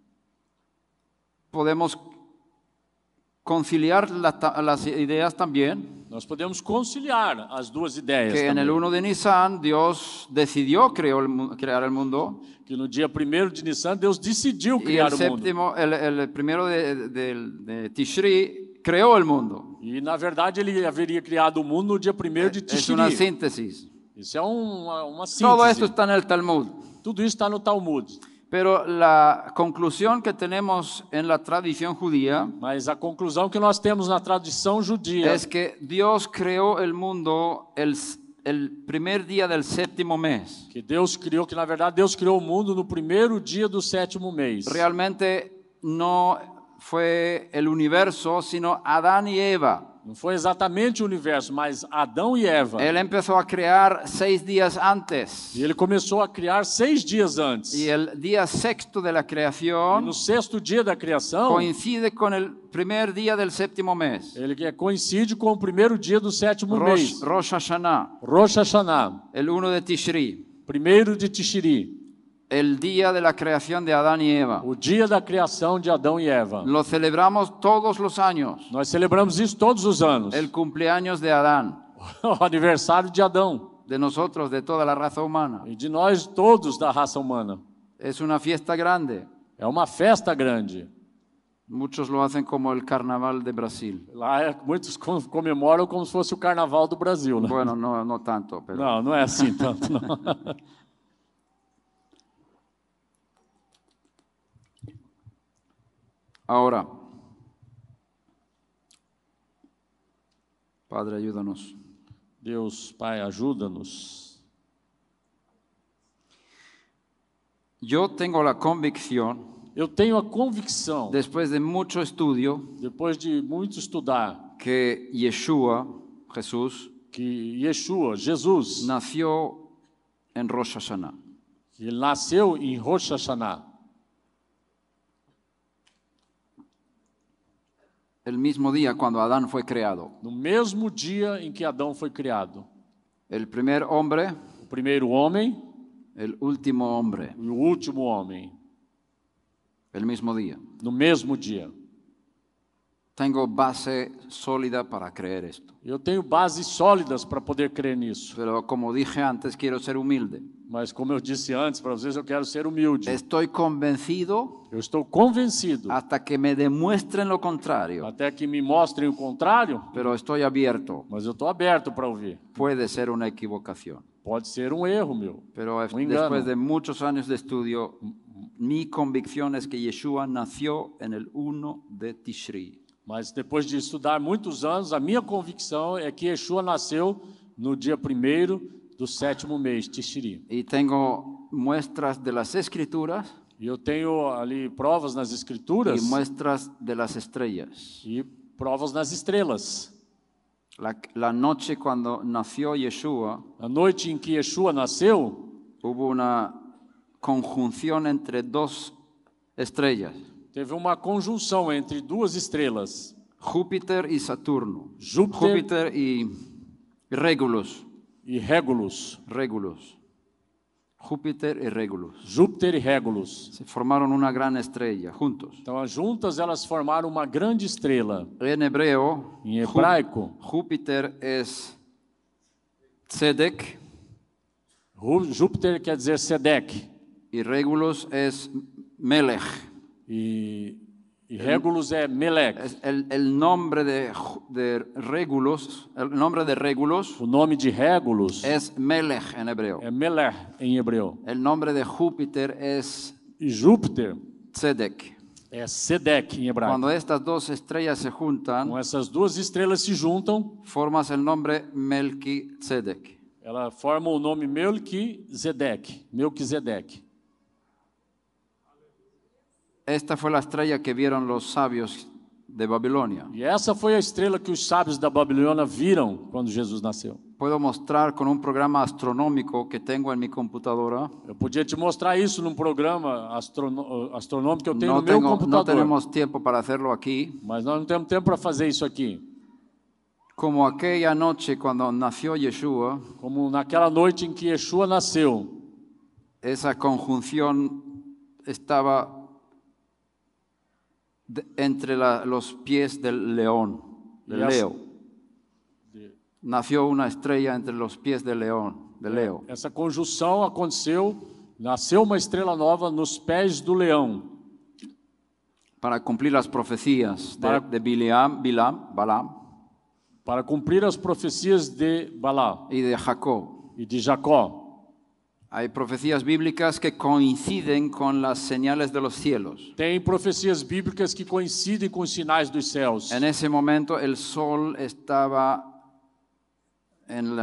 Podemos conciliar las ideas también. Nós podemos conciliar as duas ideias Que en el também. 1 de Nisan Dios decidió crear el mundo. Que no dia 1º de Nissan Deus decidiu Y criar el o mundo. séptimo, el primero de Tishri creó el mundo. E na verdade ele haveria criado o mundo no dia 1º de Es una Tishri. síntesis. Isso é uma Todo esto síntese. está en el Talmud. Tudo isso está no Talmud. Pero la conclusión que tenemos en la tradición judía Mas a conclusão que nós temos na tradição judia es que Dios creó el mundo el primer día del séptimo mes. que Deus criou, que na verdade Deus criou o mundo no 1º dia do 7º mês. Realmente no fue el universo, sino Adán y Eva. Não foi exatamente o universo, mas Adão e Eva. Él empezó a crear 6 días antes. E ele começou a criar 6 dias antes. Y el día sexto de la E creación no 6º dia da criação, coincide con el primer día del séptimo mes. ele coincide com o 1º dia do 7º mês. Rosh Hashanah, Rosh Hashanah, el 1 de Tishri, 1º de Tishri, el día de la creación de Adán y Eva. o dia da criação de Adão e Eva. Lo celebramos todos los años, Nós celebramos isso todos os anos. el cumpleaños de Adán, O aniversário de Adão de nosotros, de toda la raza humana. e de nós todos da raça humana. Es una fiesta grande. É uma festa grande. Muchos lo hacen como el carnaval de Brasil. Lá muitos comemoram como se fosse o carnaval do Brasil, né? Bueno, no tanto, pero Não, não é assim tanto, não. ahora, Padre, ayúdanos. Deus, Pai, ajuda-nos. Yo tengo la convicción, Eu tenho a convicção, después de mucho estudio, depois de muito estudar, que Yeshua, Jesús, que Yeshua, Jesus, nació en Rosh Hashanah. ele nasceu em Rosh Hashanah, El mismo día cuando Adán fue creado. no mesmo dia em que Adão foi criado. El primer hombre, O primeiro homem el último hombre, e o último homem, el mismo día. no mesmo dia. Tengo base sólida para creer esto. Eu tenho bases sólidas para poder crer nisso. Pero como dije antes, quiero ser humilde. Mas como eu disse antes, para vocês eu quero ser humilde. Estoy convencido Eu estou convencido, hasta que me demuestren lo contrario. até que me mostrem o contrário, Pero estoy abierto. mas eu estou aberto para ouvir. Puede ser una equivocación. Pode ser um erro meu. Pero engano. después de muchos años de estudio, mi convicción es que Yeshua nació en el 1 de Tishri. Mas depois de estudar muitos anos, a minha convicção é que Yeshua nasceu no dia 1º do 7º mês, Tishri. Y tengo muestras de las escrituras E eu tenho ali provas nas escrituras y muestras de las estrellas. e provas nas estrelas. La noche cuando nació Yeshua, A noite em que Yeshua nasceu, hubo una conjunción entre dos estrellas, teve uma conjunção entre duas estrelas, Júpiter y Saturno. Júpiter Júpiter y Regulus. e Régulus. Júpiter y Regulus. Júpiter e Régulus. Se formaron una gran estrella juntos. Então, juntas elas formaram uma grande estrela. En hebreo, Em hebraico, Júpiter es Tzedek Júpiter quer dizer Sedec y Regulus es Melech. e Régulus é Melec. El nombre de Regulus, el nombre de Regulus O nome de Régulus es Melech en hebreo. é Melech em hebreu. El nombre de Júpiter es E Júpiter Tzedek. é Sedec em hebraico. Cuando estas dos estrellas se juntan, Com essas duas estrelas se juntam, formas el nombre Melquitzedek. ela forma o nome Melquisedeque. Esta fue la estrella que vieron los sabios de Babilonia. E essa foi a estrela que os sábios da Babilônia viram quando Jesus nasceu. Puedo mostrar con un programa astronómico que tengo en mi computadora. Eu podia te mostrar isso num programa astronômico que eu tenho No, no meu no computador. tenemos tiempo para hacerlo aquí. Mas nós não temos tempo para fazer isso aqui. Como aquella noche cuando nació Yeshua, Como naquela noite em que Yeshua nasceu, esa conjunción estaba entre los pies del león, del Leo. Nació una estrella entre los pies del león, de Leo. Essa conjunção aconteceu, nasceu uma estrela nova nos pés do leão. Para cumplir las profecías de Balaam Para cumprir as profecias de Balá y de Jacob. e de Jacó. Hay profecías bíblicas que coinciden con las señales de los cielos. Tem profecias bíblicas que coincidem com os sinais dos céus. En ese momento el sol estaba en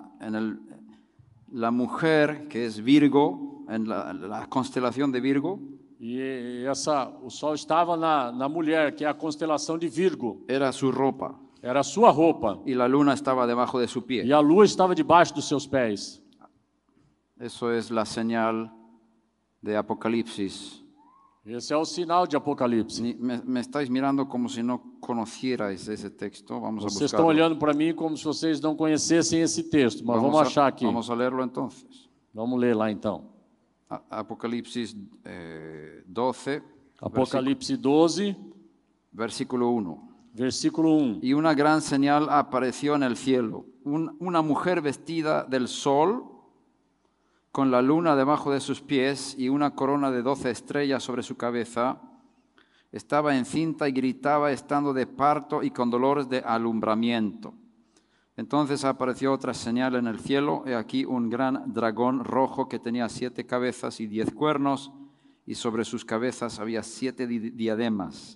la mujer que es Virgo, en la constelación de Virgo. E o sol estava na mulher, que é a constelação de Virgo. Era su ropa. Era a sua roupa. Y la luna estaba debajo de su pie. E a lua estava debaixo dos seus pés. Eso es la señal de Apocalipsis. Esse é o sinal de Apocalipse. Me estáis mirando como si no conocierais ese texto. Vamos a Vocês estão buscarlo. olhando para mim como se vocês não conhecessem esse texto, mas vamos achar aqui. Vamos a leerlo entonces. Vamos ler lá então. Apocalipsis 12, Apocalipse 12, versículo 1. versículo 1. Y una gran señal apareció en el cielo. Una mujer vestida del sol, con la luna debajo de sus pies y una corona de 12 estrellas sobre su cabeza. Estaba encinta y gritaba estando de parto y con dolores de alumbramiento. Entonces apareció otra señal en el cielo. He aquí un gran dragón rojo que tenía 7 cabezas y 10 cuernos, y sobre sus cabezas había 7 diademas.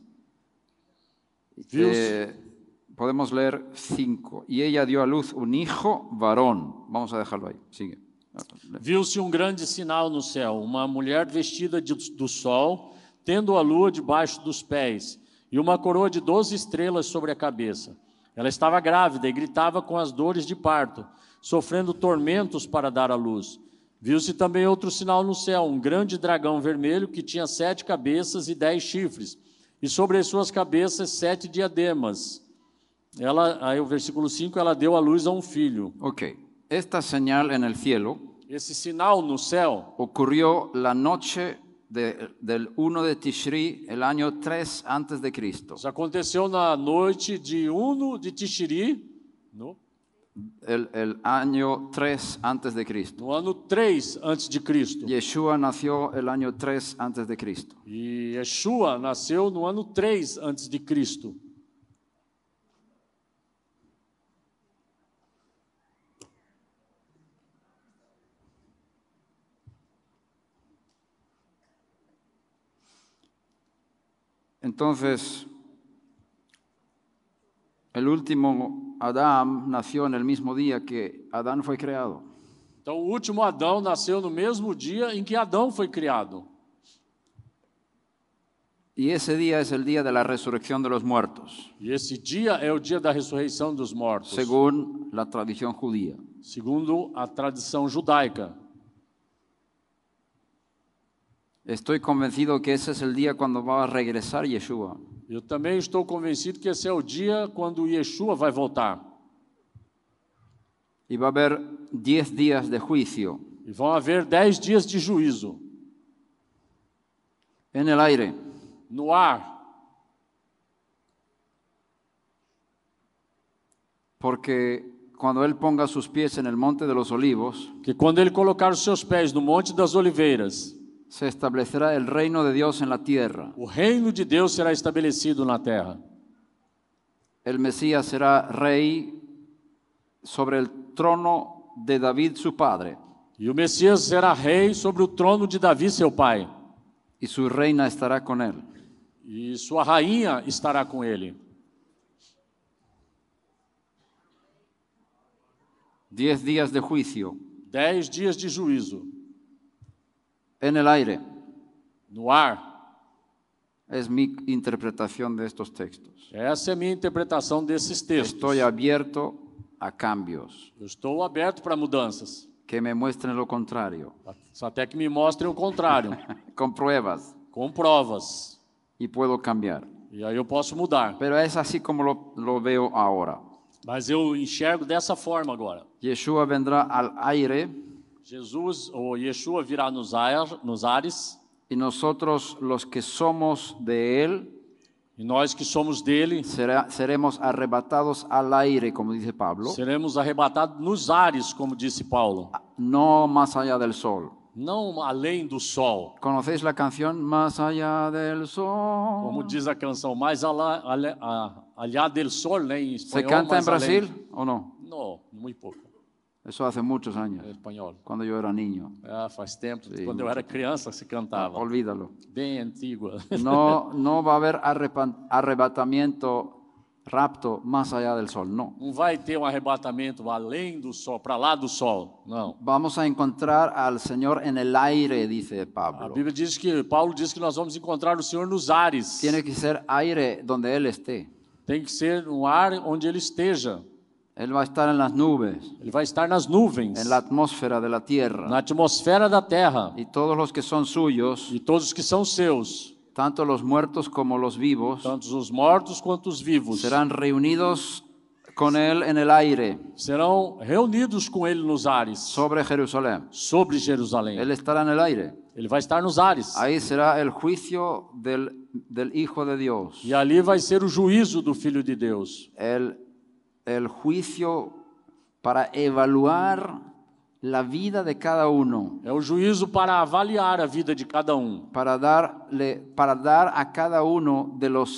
Podemos leer 5. Y ella dio a luz un hijo varón. Vamos a dejarlo ahí. Sigue. Viu-se grande sinal no céu, uma mulher vestida do sol, tendo a lua debaixo dos pés, e uma coroa de 12 estrelas sobre a cabeça. Ela estava grávida e gritava com as dores de parto, sofrendo tormentos para dar à luz. Viu-se também outro sinal no céu, um grande dragão vermelho que tinha 7 cabeças e 10 chifres, e sobre as suas cabeças 7 diademas. Aí o versículo 5, ela deu à luz a um filho. Ok. Esta señal en el cielo Esse sinal no céu ocurrió la noche del 1 de Tishri, el año 3 antes de Cristo. isso aconteceu na noite de 1 de Tishri, El año 3 antes de Cristo. no ano 3 antes de Cristo. Yeshua nació el año 3 antes de Cristo. E Yeshua nasceu no ano 3 antes de Cristo. Entonces, el último Adán nació en el mismo día que Adán fue creado. Então, o último Adão nasceu no mesmo dia em que Adão foi criado. Y ese día es el día de la resurrección de los muertos, E esse dia é o dia da ressurreição dos mortos, según la tradición judía. segundo a tradição judaica. Estoy convencido que ese es el día cuando va a regresar Yeshua. Eu também estou convencido que esse é o dia quando Yeshua vai voltar. Y va a haber 10 días de juicio E vão haver 10 dias de juízo en el aire. no ar, Porque cuando Él ponga sus pies en el monte de los olivos, que quando ele colocar os seus pés no Monte das Oliveiras, se establecerá el reino de Dios en la tierra. o reino de Deus será estabelecido na terra. El Mesías será rey sobre el trono de David, su padre, E o Messias será rei sobre o trono de Davi, seu pai. y su reina estará con él. E sua rainha estará com ele. 10 días de juicio 10 dias de juízo en el aire. no ar. Es mi interpretación de estos textos. Essa é a minha interpretação desses textos. Estoy abierto a cambios Eu estou aberto para mudanças, que me muestren lo contrario, até que me mostrem o contrário, con pruebas, com provas. y puedo cambiar. E aí eu posso mudar. Pero es así como lo veo ahora. Mas eu enxergo dessa forma agora. Yeshua vendrá al aire Jesus, ou Yeshua, virá nos ares, y nosotros los que somos de él e nós que somos dele seremos arrebatados al aire, como dice Pablo, seremos arrebatados nos ares, como disse Paulo, no más allá del sol. não além do sol. ¿Conocéis la canción Más allá del sol? Como diz a canção, mais allá del sol, né, em ¿Se espanhol. canta en mais além. Brasil o no? Não, muito pouco. Eso hace muchos años, Em espanhol. cuando yo era niño. Faz tempo, Sim, quando eu era criança se cantava. Olvídalo. Bem antiga. No va a haber arrebatamiento, rapto más allá del sol, no. Não vai ter um arrebatamento além do sol, para lá do sol, não. Vamos a encontrar al Señor en el aire, dice A Pablo. Bíblia diz que, Paulo diz que nós vamos encontrar o Senhor nos ares. Tiene que ser aire donde Él esté. Tem que ser um ar onde Ele esteja. Él va a estar en las nubes, Ele vai estar nas nuvens, en la atmósfera de la tierra. na atmosfera da terra. Y todos los que son suyos, E todos os que são seus, tanto los muertos como los vivos, tanto os mortos quanto os vivos, serán reunidos con Él en el aire serão reunidos com Ele nos ares, sobre Jerusalén. sobre Jerusalém. Él estará en el aire. Ele vai estar nos ares. Ahí será el juicio del Hijo de Dios. E ali vai ser o juízo do Filho de Deus. El juicio para evaluar la vida de cada uno, É o juízo para avaliar a vida de cada para dar a cada uno de los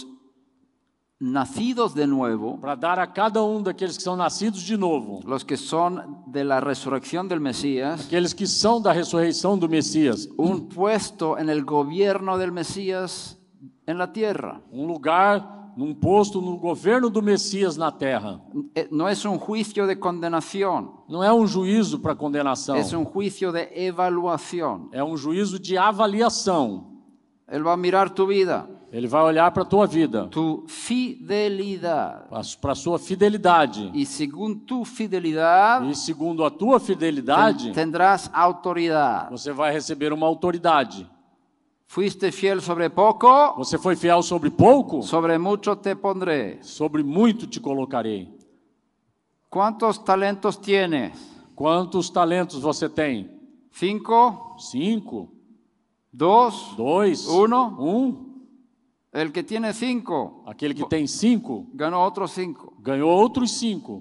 nacidos de nuevo, para dar a cada daqueles que são nascidos de novo, los que son de la resurrección del Mesías, aqueles que são da ressurreição do Messias, un puesto en el gobierno del Mesías en la tierra. lugar, num posto no governo do Messias na terra. No es un juicio de condenación, Não é juízo para condenação, es un juicio de evaluación. é juízo de avaliação. Él va a mirar tu vida, Ele vai olhar para a tua vida, tu fidelidad. para a sua fidelidade. Y según tu fidelidad, E segundo a tua fidelidade, tendrás autoridad. você vai receber uma autoridade. Fuiste fiel sobre poco, Você foi fiel sobre pouco, sobre mucho te pondré. sobre muito te colocarei. ¿Cuántos talentos tienes? Quantos talentos você tem? 5, 5, 2, 2, 1. El que tiene 5 Aquele que tem 5 ganó otros 5 ganhou outros 5.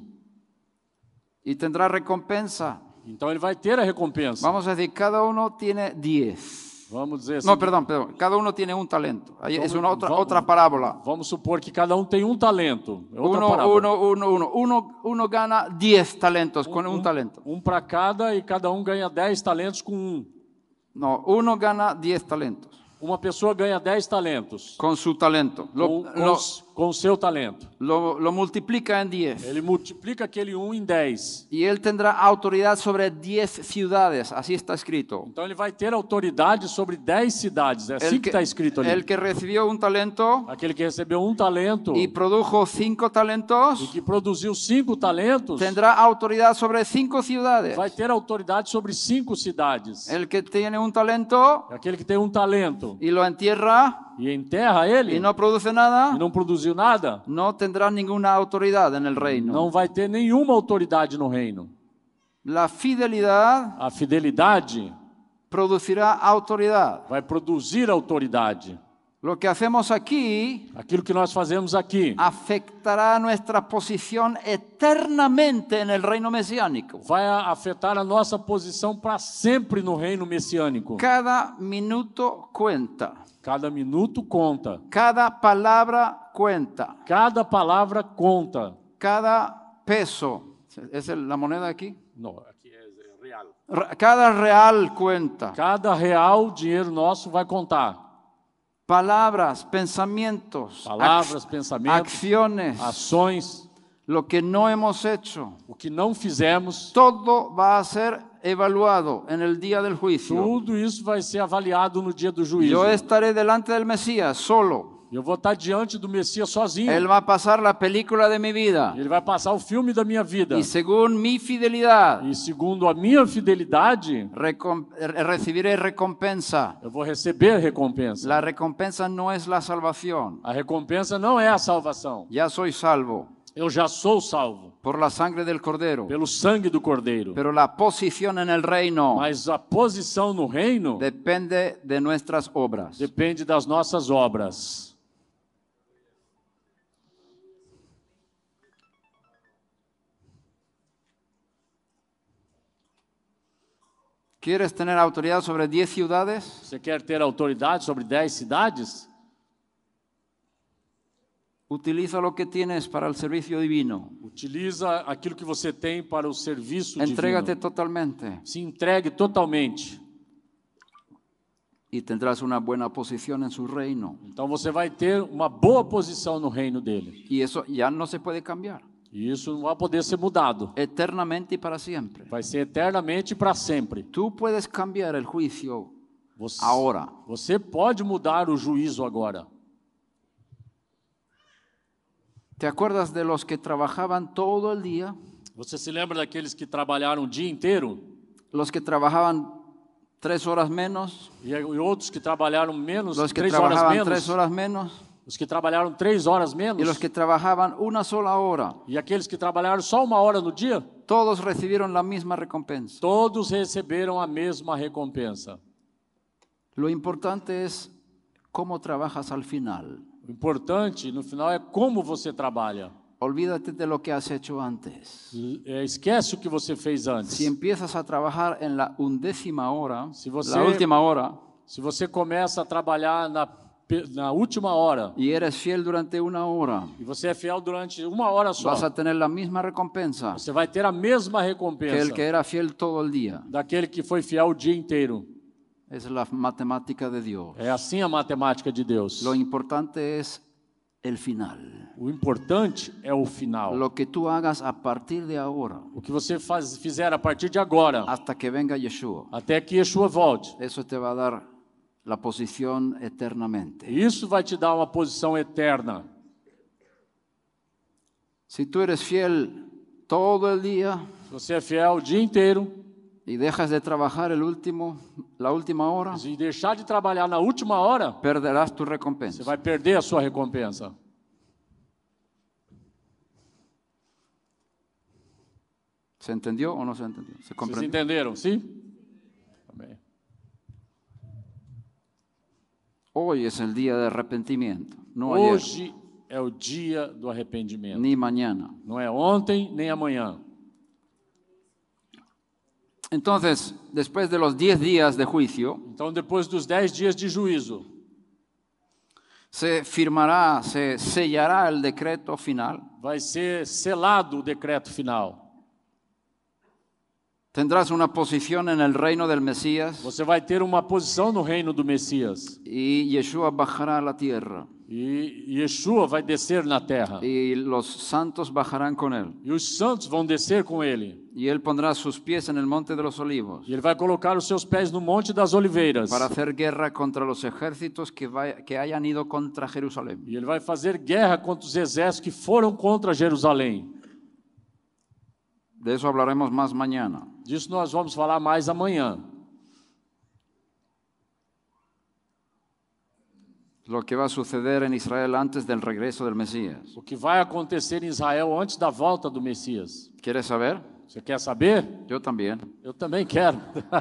y tendrá recompensa. Então ele vai ter a recompensa. Vamos a decir, cada uno tiene 10. Vamos dizer assim. No, perdón. Cada uno tiene un talento. Ahí es Vamos- otra parábola. Vamos supor que cada tem talento. É outra parábola. Uno gana 10 talentos con un talento. Para cada e cada ganha 10 talentos com No, uno gana 10 talentos Uma pessoa ganha 10 talentos con su talento. com o seu talento. Lo multiplica en 10. Ele multiplica aquele em 10. Y él tendrá autoridad sobre 10 ciudades. Así está escrito. Então ele vai ter autoridade sobre 10 cidades. É assim que está escrito ali. El que recibió un talento Aquele que recebeu talento y produjo 5 talentos, e que produziu 5 talentos tendrá autoridad sobre 5 ciudades. vai ter autoridade sobre 5 cidades. El que tiene un talento Aquele que tem talento y lo entierra e enterra ele y no produce nada, e não produziu nada, no tendrá ninguna autoridad en el reino. não vai ter nenhuma autoridade no reino. La fidelidad A fidelidade producirá autoridad. vai produzir autoridade. Lo que hacemos aquí Aquilo que nós fazemos aqui afectará nuestra posición eternamente en el reino mesiánico. vai afetar a nossa posição para sempre no reino messiânico. Cada minuto cuenta. Cada minuto conta. Cada palabra cuenta. Cada palavra conta. Cada peso. ¿Es la moneda aquí? Não, aqui é real. Cada real cuenta. Cada real dinheiro nosso vai contar. Palabras, pensamientos, Palavras, pensamentos, acciones. ações. Lo que no hemos hecho, o que não fizemos, todo va a ser evaluado en el día del juicio. tudo isso vai ser avaliado no dia do juízo. Yo estaré delante del Mesías solo. Eu vou estar diante do Messias sozinho. Él va a pasar la película de mi vida. Ele vai passar o filme da minha vida. Y según mi fidelidad, E segundo a minha fidelidade, recibiré recompensa. eu vou receber recompensa. La recompensa no es la salvación. A recompensa não é a salvação. Ya soy salvo Eu já sou salvo por la sangre del Cordero. pelo sangue do Cordeiro. Pero la posición en el reino Mas a posição no reino depende de nuestras obras. depende das nossas obras. ¿Quieres tener autoridad sobre 10 ciudades? Você quer ter autoridade sobre 10 cidades? Utiliza lo que tienes para el servicio divino. Utiliza aquilo que você tem para o serviço Entrégate divino. totalmente Se entregue totalmente. y tendrás una buena posición en su reino. Então você vai ter uma boa posição no reino dele. Y eso ya no se puede cambiar. E isso não vai poder ser mudado. Eternamente y para siempre. Vai ser eternamente e para sempre. Tú puedes cambiar el juicio Você, ahora. você pode mudar o juízo agora. ¿Te acuerdas de los que trabajaban todo el día? Você se lembra daqueles que trabalharam o dia inteiro? Los que trabajaban 3 horas menos. E outros que trabalharam menos, Los que 3 horas trabajaban menos? 3 horas menos. Os que trabalharam 3 horas menos? Y los que trabajaban una sola hora. E aqueles que trabalharam só 1 hora no dia? Todos recibieron la misma recompensa. Todos receberam a mesma recompensa. Lo importante es cómo trabajas al final. O importante, no final, é como você trabalha. Olvídate de lo que has hecho antes. Esquece o que você fez antes. Si empiezas a trabajar en la 11ª hora, Se você- la última hora, Se você começa a trabalhar na última hora, y eres fiel durante 1 hora, e você é fiel durante 1 hora só, vas a tener la misma recompensa você vai ter a mesma que recompensa el que era fiel todo el día. daquele que foi fiel o dia inteiro. Es la matemática de Dios. É assim a matemática de Deus. Lo importante es el final. O importante é o final. Lo que tú hagas a partir de ahora, O que você fizer a partir de agora, hasta que venga Yeshua, até que Yeshua volte. eso te va a dar la posición eternamente. Isso vai te dar uma posição eterna. Si tú eres fiel todo el día Se você é fiel o dia inteiro y dejas de trabajar la última hora, e deixar de trabalhar na última hora, perderás tu você recompensa. vai perder a sua recompensa. ¿Se entendió o no se entendió? ¿Se Vocês comprendió? entenderam? Sim? Amém. Hoy es el día de arrepentimiento, no ayer, Hoje é o dia do arrependimento. ni mañana. Não é ontem nem amanhã. Entonces, después de los 10 días de juicio, Então, depois dos 10 dias de juízo, se sellará el decreto final. vai ser selado o decreto final. Tendrás una posición en el reino del Mesías Você vai ter uma posição no reino do Messias. y Yeshua bajará a la tierra E Yeshua vai descer na terra. y los santos bajarán con él. E os santos vão descer com ele. Y él pondrá sus pies en el monte de los olivos E ele vai colocar os seus pés no Monte das Oliveiras. para hacer guerra contra los ejércitos que hayan ido contra Jerusalén. E ele vai fazer guerra contra os exércitos que foram contra Jerusalém. De eso hablaremos más mañana. Disso nós vamos falar mais amanhã. Lo que va a suceder en Israel antes del regreso del Mesías. O que vai acontecer em Israel antes da volta do Messias. ¿Quieres saber? Você quer saber? Yo también. Eu também quero.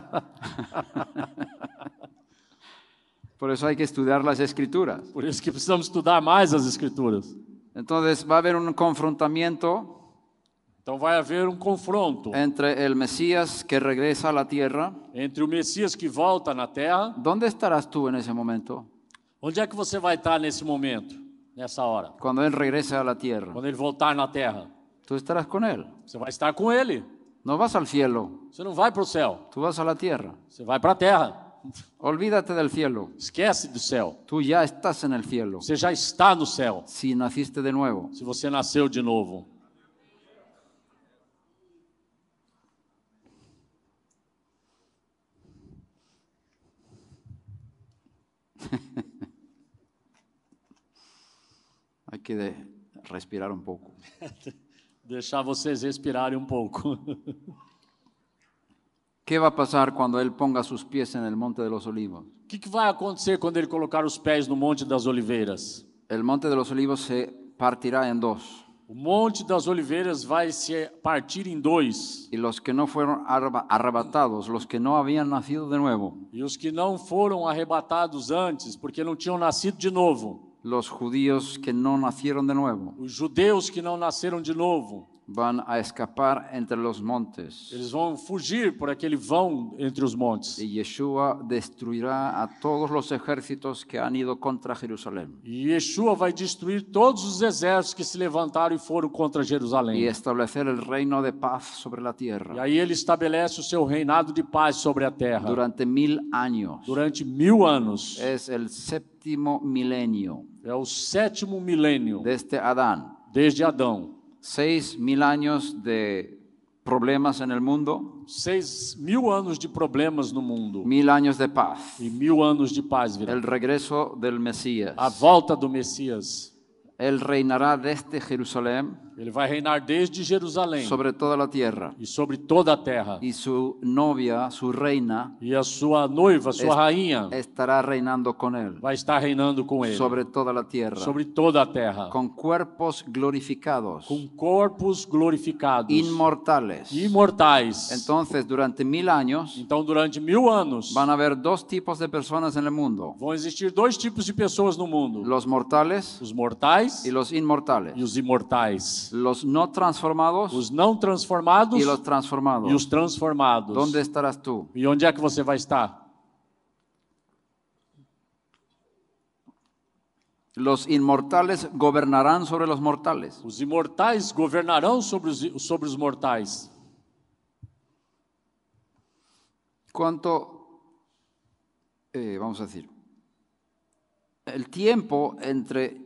Por eso hay que estudiar las escrituras. Por isso que precisamos estudar mais as Escrituras. Entonces va a haber un confrontamiento Então vai haver um confronto entre el Mesías que regresa a la tierra. entre o Messias que volta na terra. ¿Dónde estarás tú en ese momento? Onde é que você vai estar nesse momento, nessa hora? Cuando Él regrese a la tierra. Quando ele voltar na terra. Tú estarás con Él. Você vai estar com ele. No vas al cielo, Você não vai para o céu. tú vas a la tierra. Você vai para a terra. Olvídate del cielo. Esquece do céu. Tú ya estás en el cielo. Você já está no céu. Si naciste de nuevo. Se você nasceu de novo. Hay que respirar un poco. Deixar vocês respirarem um pouco. ¿Qué va a pasar cuando Él ponga sus pies en el monte de los olivos? O que vai acontecer quando ele colocar os pés no Monte das Oliveiras? El monte de los olivos se partirá en dos. O Monte das Oliveiras vai se partir em dois. Y los que no fueron arrebatados, los que no habían nacido de nuevo, E os que não foram arrebatados antes, porque não tinham nascido de novo, los judíos que no nacieron de nuevo, os judeus que não nasceram de novo, van a escapar entre los montes. eles vão fugir por aquele vão entre os montes. Y Yeshua destruirá a todos los ejércitos que han ido contra Jerusalén. E Yeshua vai destruir todos os exércitos que se levantaram e foram contra Y Jerusalém. establecer el reino de paz sobre la E tierra aí ele estabelece o seu reinado de paz sobre a terra durante 1000 años. durante 1000 anos. Es el séptimo milenio É o 7º milênio desde Adán. desde Adão. 6000 años de problemas en el mundo, 6.000 anos de problemas no mundo 1000 años de paz. e 1000 anos de paz virá. El regreso del Mesías. A volta do Messias. Él reinará desde Jerusalén Ele vai reinar desde Jerusalém sobre toda la tierra. e sobre toda a terra. Y su novia, su reina, E a sua noiva, sua rainha, estará reinando con él vai estar reinando com ele sobre toda la tierra, sobre toda a terra, con cuerpos glorificados, com corpos glorificados, inmortales. imortais. Entonces, durante 1000 años, Então, durante 1000 anos, van a haber dos tipos de personas en el mundo: vão existir dois tipos de pessoas no mundo: los mortales os mortais y los inmortales, e os imortais, los no transformados os não transformados y los transformados. e os transformados. ¿Dónde estarás tú? E onde é que você vai estar? Los inmortales gobernarán sobre los mortales. Os imortais governarão sobre os mortais. ¿Cuánto, vamos a decir, el tiempo entre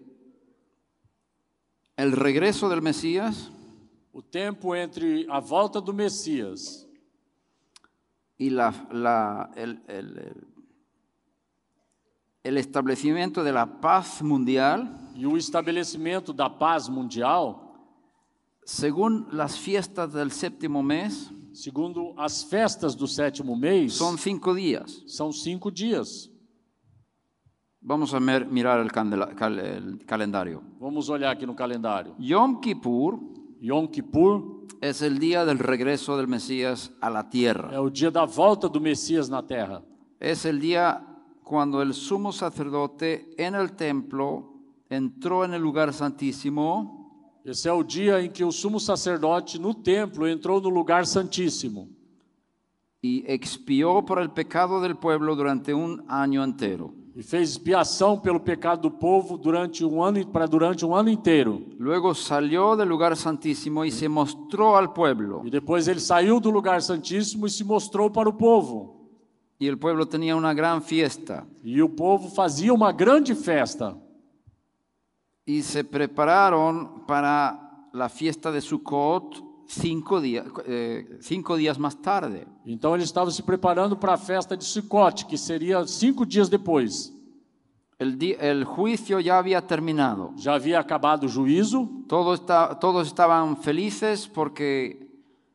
el regreso del Mesías O tempo entre a volta do Messias y el establecimiento de la paz mundial, e o estabelecimento da paz mundial, según las fiestas del séptimo mes, segundo as festas do 7º mês, son 5 días. são 5 dias. Vamos a mirar el calendario. Vamos olhar aqui no calendário. Yom Kippur Yom Kippur es el día del regreso del Mesías a la tierra. é o dia da volta do Messias na terra. Es el día cuando el sumo sacerdote en el templo entró en el lugar santísimo Esse é o dia em que o sumo sacerdote no templo entrou no lugar santíssimo y expió por el pecado del pueblo durante un año entero. e fez expiação pelo pecado do povo durante um ano inteiro. Luego salió del lugar santísimo y se mostró al pueblo. E depois ele saiu do lugar santíssimo e se mostrou para o povo. Y el pueblo tenía una gran fiesta. E o povo fazia uma grande festa. Y se prepararon para la fiesta de Sukkot 5 días más tarde. Então eles estavam se preparando para a festa de Sukkot, que seria 5 dias depois. El juicio ya había terminado. Já havia acabado o juízo, Todos estaban felices porque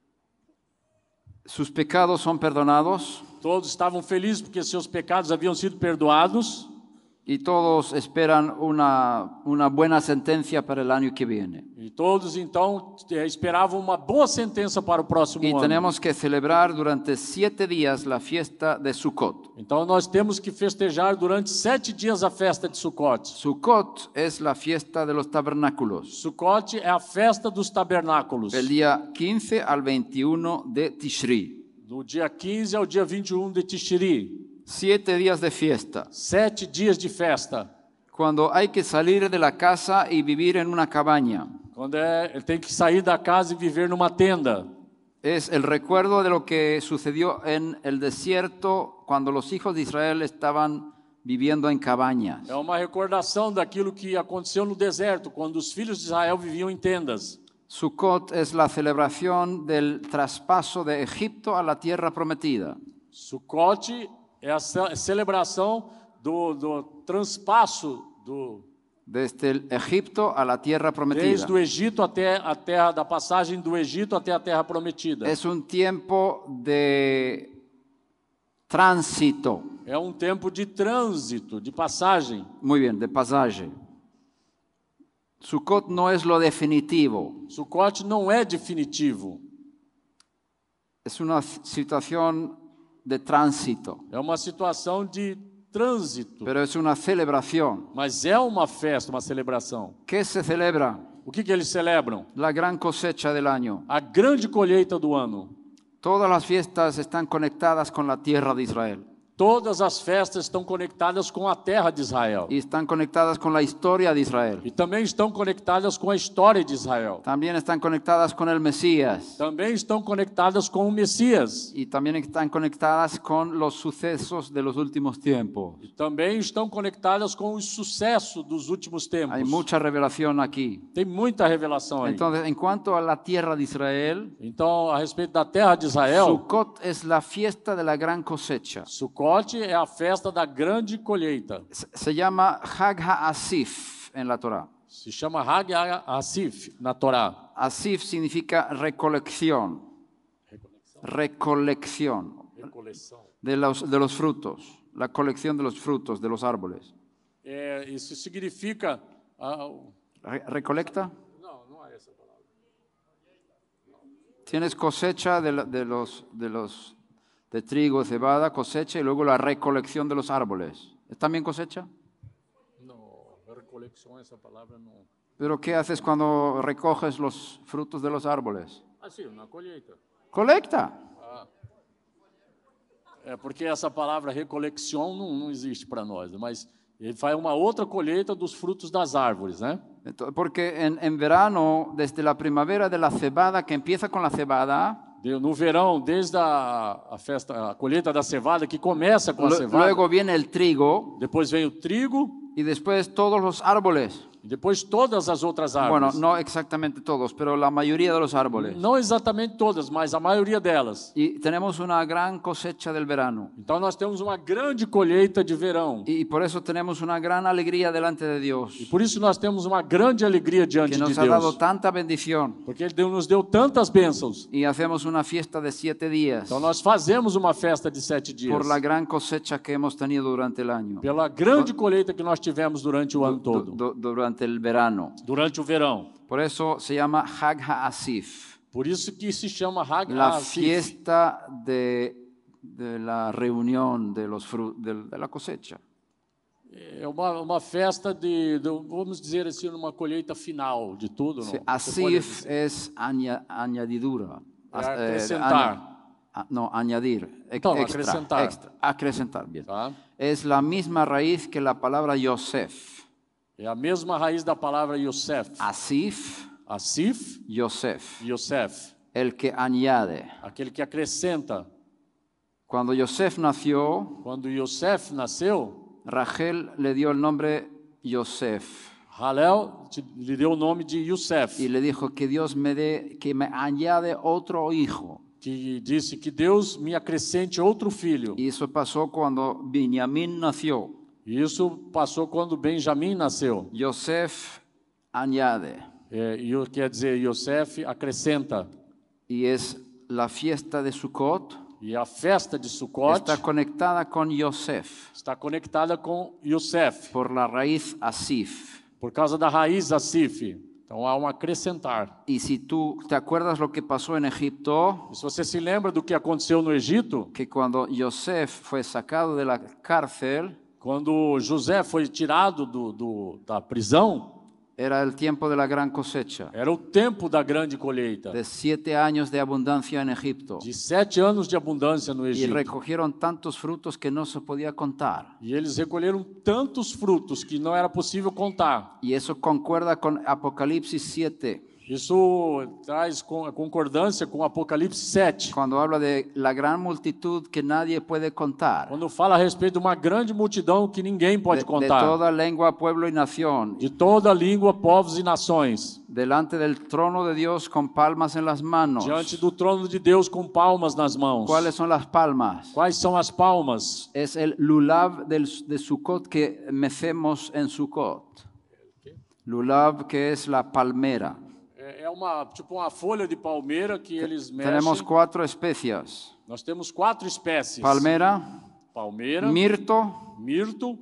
sus pecados son perdonados todos estavam felizes porque seus pecados haviam sido perdoados. y todos esperan una buena sentencia para el año que viene. E todos então esperavam uma boa sentença para o próximo Y ano. tenemos que celebrar durante 7 días la fiesta de Sukkot. Então nós temos que festejar durante 7 dias a festa de Sukkot. Sukkot es la fiesta de los tabernáculos, Sukkot é a festa dos tabernáculos. el día 15 al 21 de Tishri. Do dia 15 ao dia 21 de Tishri. 7 días de fiesta, 7 dias de festa. cuando hay que salir de la casa y vivir en una cabaña. Quando ele tem que sair da casa e viver numa tenda. Es el recuerdo de lo que sucedió en el desierto cuando los hijos de Israel estaban viviendo en cabañas. É uma recordação daquilo que aconteceu no deserto, quando os filhos de Israel viviam em tendas. Sukkot es la celebración del traspaso de Egipto a la tierra prometida. Sukkot é a celebração do transpasso desde el Egipto a la tierra prometida. desde o Egito até a terra, da passagem do Egito até a terra prometida. Es un tiempo de tránsito. É um tempo de trânsito, de passagem. Muy bien, de pasaje. Sukkot no es lo definitivo. Sucote não é definitivo, Es una situación de tránsito, é uma situação de trânsito, pero es una celebración. mas é uma festa, uma celebração. ¿Qué se celebra? O que eles celebram? La gran cosecha del año. A grande colheita do ano. Todas las fiestas están conectadas con la tierra de Israel Todas as festas estão conectadas com a terra de Israel. y están conectadas con la historia de Israel. E também estão conectadas com a história de Israel. También están conectadas con el Mesías Também estão conectadas com o Messias. y también están conectadas con los sucesos de los últimos tiempos. E também estão conectadas com o sucesso dos últimos tempos. Hay mucha revelación aquí. Tem muita revelação aí. Entonces, en cuanto a la tierra de Israel, Então, a respeito da terra de Israel, Sukkot es la fiesta de la gran cosecha. Sucote é a festa da grande colheita. Se llama Hag HaAsif en la Torá. Se chama Hag HaAsif na Torá. Asif significa recolección. Recolección de los frutos. La colección de los frutos de los árboles. Isso significa... ¿Recolecta? Não é essa palavra. Tienes cosecha de trigo, cebada, cosecha y luego la recolección de los árboles. ¿Es también cosecha? Não, recolecção, essa palavra não... ¿Pero qué haces cuando recoges los frutos de los árboles? Assim, na colheita. Colecta. É porque essa palavra recolecção não existe para nós, mas ele faz uma outra colheita dos frutos das árvores, né? Porque en verano, desde la primavera de la cebada, que empieza con la cebada, No verão, desde a festa, a colheita da cevada, que começa com a cevada, luego viene el trigo depois vem o trigo y después todos los árboles. e depois todas as outras Bueno, árvores. no exactamente todos, pero la mayoría de los árboles. Não exatamente todas, mas a maioria delas. Y tenemos una gran cosecha del verano. Então nós temos uma grande colheita de verão. Y por eso tenemos una gran alegría delante de Dios, E por isso nós temos uma grande alegria diante que de nos ha dado Deus. tanta bendición. Porque Ele nos deu tantas bênçãos. Y hacemos una fiesta de 7 días Então nós fazemos uma festa de 7 dias. por la gran cosecha que hemos tenido durante el año, Pela grande colheita que nós tivemos durante o ano todo. durante el verano. Durante o verão. Por eso se llama Hag HaAsif, Por isso que se chama Hag la HaAsif. fiesta de la reunión de la cosecha. É uma festa vamos dizer assim, uma colheita final de tudo. Não? Sí, Você pode Asif dizer. es añadidura. Acrescentar. No, añadir. Então, Extra. Acrescentar, bien. Tá? Es la misma raíz que la palabra Yosef. É a mesma raiz da palavra Yosef. Asif, Asif, Yosef. Yosef. El que añade. Aquele que acrescenta. Cuando Yosef nació, Quando Yosef nasceu, Rachel le dio el nombre Yosef Halel lhe deu o nome de Yosef. y le dijo que Dios que me añade otro hijo. Que disse que Deus me acrescente outro filho. Y eso pasó cuando Benjamín nació. E isso passou quando Benjamim nasceu. Yosef añade. Quer dizer, Yosef acrescenta. Y es la fiesta de Sukkot. E a festa de Sukkot Está conectada con Yosef está conectada com Yosef, por la raíz Asif. por causa da raiz Asif. Então há um acrescentar. Y si tú te acuerdas lo que pasó en Egipto, E se você se lembra do que aconteceu no Egito, que cuando Yosef fue sacado de la cárcel, quando José foi tirado da prisão, era el tiempo de la gran cosecha, era o tempo da grande colheita. de 7 años de abundancia en Egipto. De 7 anos de abundância no Y Egito. recogieron tantos frutos que no se podía contar. E eles recolheram tantos frutos que não era possível contar. Y eso concuerda con Apocalipsis 7. Isso traz concordância com Apocalipse 7. cuando habla de la gran multitud que nadie puede contar, Quando fala a respeito de uma grande multidão que ninguém pode de contar. toda lengua, pueblo y nación, De toda língua, povos e nações. delante del trono de Dios con palmas en las manos. Diante do trono de Deus com palmas nas mãos. ¿Cuáles son las palmas? Quais são as palmas? Es el lulav de Sukkot que mecemos en Sukkot. Lulav, que es la palmera. É uma folha de palmeira que eles Tenemos mexem. 4 especias: Nós temos 4 espécies. palmera, Palmeira, mirto, mirto,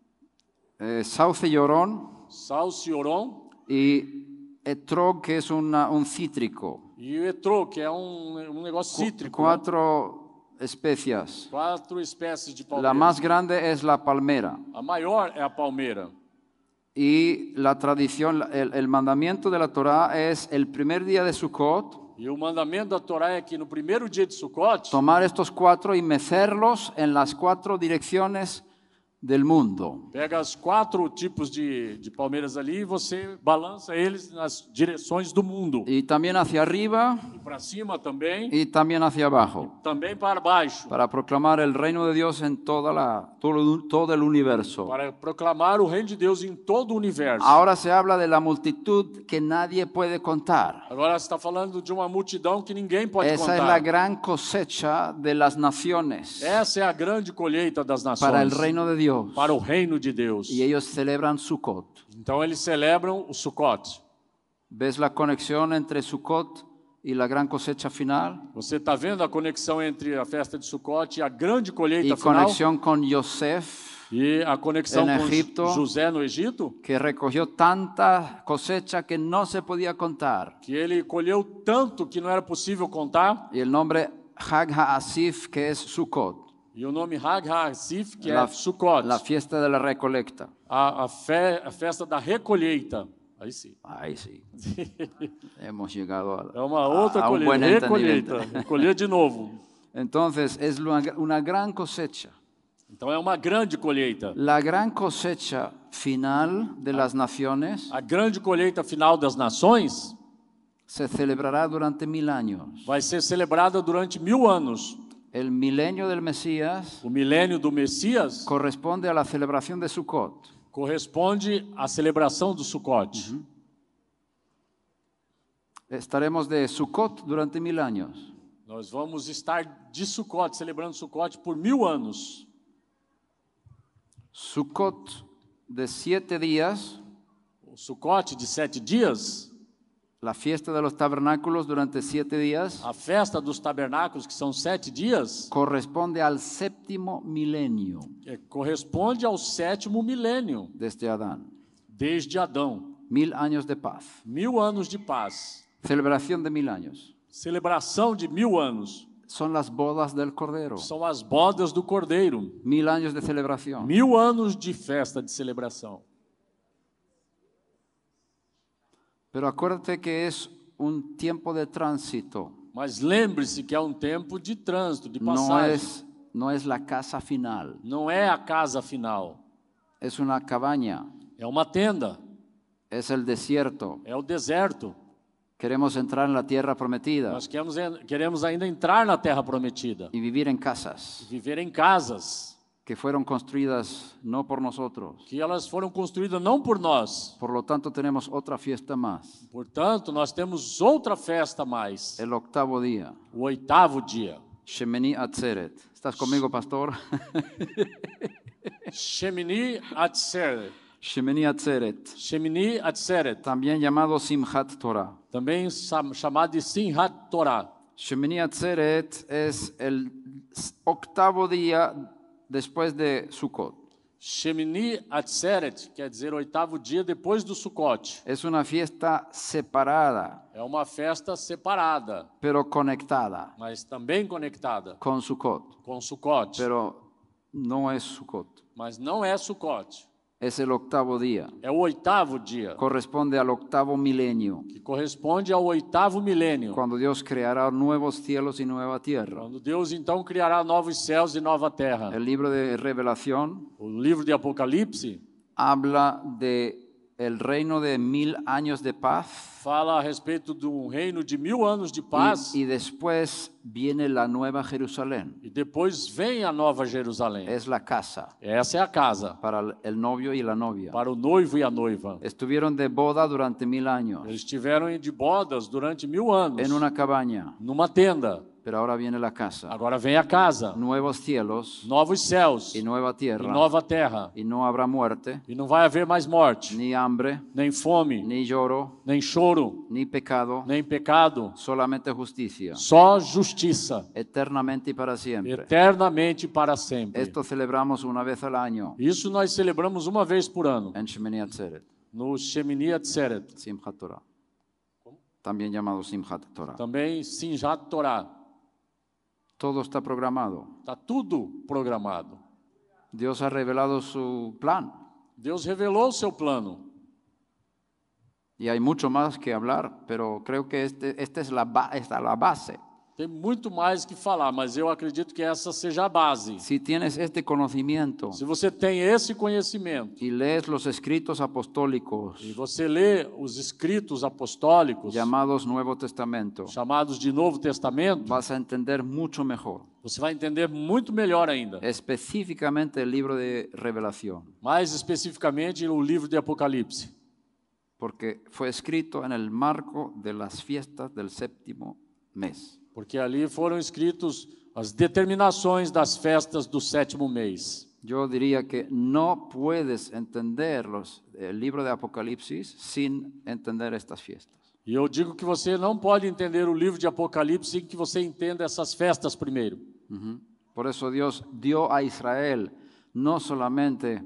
sauce llorón salcioron y etrog, que es un cítrico. e o etrô, que é negócio cítrico. Né? 4 especias. 4 espécies de palmeira. La más grande es la palmera. A maior é a palmeira. Y la tradición, el mandamiento de la Torá es el primer día de Sukkot, E o mandamento da Torá é que no primeiro dia de Sukkot, tomar estos 4 y mecerlos en las 4 direcciones del mundo. pega os 4 tipos de palmeiras ali e você balança eles nas direções do mundo. Y también hacia arriba E para cima também, y también hacia abajo, também para baixo. para proclamar el reino de Dios en todo el universo. Para proclamar o reino de Deus em todo o universo. Ahora se habla de la multitud que nadie puede contar. Agora você está falando de uma multidão que ninguém pode Esa es la contar. gran cosecha de las naciones Essa é a grande colheita das nações. para el reino de Dios. Para o reino de Deus. Y ellos celebran Sukkot. Então eles celebram o Sukkot. ¿Ves la conexión entre Sukkot y la gran cosecha final? Você está vendo a conexão entre a festa de Sukkot e a grande colheita Y final? conexión con Yosef, E a conexão En com Egipto. José no Egito? que recogió tanta cosecha que no se podía contar. Que ele colheu tanto que não era possível contar. Y el nombre Hag HaAsif, que es Sukkot, E o nome Hag HaAsif, que la, é Sukkot. la fiesta de la recolecta. A festa da recolheita. Aí sim. Ahí sí. Hemos llegado É uma outra a un buen colheita. Recolheita. entendimiento. Colher de novo. Entonces es una gran cosecha. Então é uma grande colheita. La gran cosecha final de las naciones A grande colheita final das nações se celebrará durante 1000 años. vai ser celebrada durante 1000 anos. El milenio del Mesías O milênio do Messias corresponde a la celebración de Sukkot. corresponde à celebração do Sukkot. Estaremos de Sukkot durante 1000 años. Nós vamos estar de Sukkot, celebrando Sukkot por 1000 anos. Sukkot de 7 días, O Sukkot de 7 dias, la fiesta de los tabernáculos durante 7 días, a festa dos tabernáculos, que são 7 dias, corresponde al séptimo milenio corresponde ao 7º milênio, desde Adán. desde Adão. 1000 años de paz. 1000 anos de paz. Celebración de 1000 años. Celebração de 1000 anos. Son las bodas del Cordero. São as bodas do Cordeiro. 1000 años de celebración. 1000 anos de festa, de celebração. Pero acuérdate que es un tiempo de tránsito. Mas lembre-se que é um tempo de trânsito, de passagem. No es la casa final. Não é a casa final. Es una cabaña. É uma tenda. Es el desierto. É o deserto. Queremos entrar en la tierra prometida Nós queremos ainda entrar na terra prometida. y vivir en casas Viver em casas. que fueron construidas no por nosotros. Que elas foram construídas não por nós. Por lo tanto, tenemos otra fiesta más. Portanto, nós temos outra festa a mais. El octavo día. O 8º dia. Shemini Atzeret. ¿Estás conmigo, pastor? Shemini Atzeret. Shemini Atzeret. Shemini Atzeret. También llamado Simchat Torah. Também chamado de Simchat Torah. Shemini Atzeret es el octavo día después de Sukkot. Shemini Atzeret quer dizer 8º dia depois do Sukkot. Es una fiesta separada, É uma festa separada, pero conectada mas também conectada con Sukkot. com Sukkot. Pero no es Sukkot. Mas não é Sukkot. Es el octavo día. É o 8º dia, Corresponde al octavo milenio, que corresponde ao 8º milênio. cuando Dios creará nuevos cielos y nueva tierra. Quando Deus então criará novos céus e nova terra. El libro de Revelación O livro de Apocalipse habla de el reino de 1000 años de paz fala a respeito de um reino de 1000 anos de paz y después viene la nueva Jerusalén. e depois vem a Nova Jerusalém. Es la casa Essa é a casa para el novio y la novia. para o noivo e a noiva. Estuvieron de boda durante 1000 años Eles estiveram de bodas durante 1000 anos, en una cabaña, numa tenda. pero ahora viene la casa. Agora vem a casa, Nuevos cielos novos céus y nueva e tierra. nova terra. Y no habrá muerte, E não vai haver mais morte, ni hambre, nem fome, ni lloro, nem choro, ni pecado, nem pecado, solamente justicia, só justiça, eternamente y para siempre. eternamente para sempre. Esto celebramos una vez al año Isso nós celebramos uma vez por ano, en Shemini Atzeret, no Shemini Atzeret, Simchat Torah, también llamado Simchat Torah. também Simchat Torah. Todo está programado. Está tudo programado. Dios ha revelado su plan Deus revelou o seu plano. y hay mucho más que hablar, pero creo que esta es la base. Tem muito mais que falar, mas eu acredito que essa seja a base. Si tienes este conocimiento Se você tem esse conhecimento y lees los escritos apostólicos e você lê os escritos apostólicos, llamados Nuevo Testamento, chamados de Novo Testamento, vas a entender mucho mejor, você vai entender muito melhor ainda. específicamente el libro de Revelación, Mais especificamente o livro de Apocalipse, porque fue escrito en el marco de las fiestas del séptimo mes. porque ali foram escritos as determinações das festas do 7º mês. Yo diría que no puedes entender el libro de Apocalipsis sin entender estas fiestas. E eu digo que você não pode entender o livro de Apocalipse sem que você entenda essas festas primeiro. Por eso Dios dio a Israel no solamente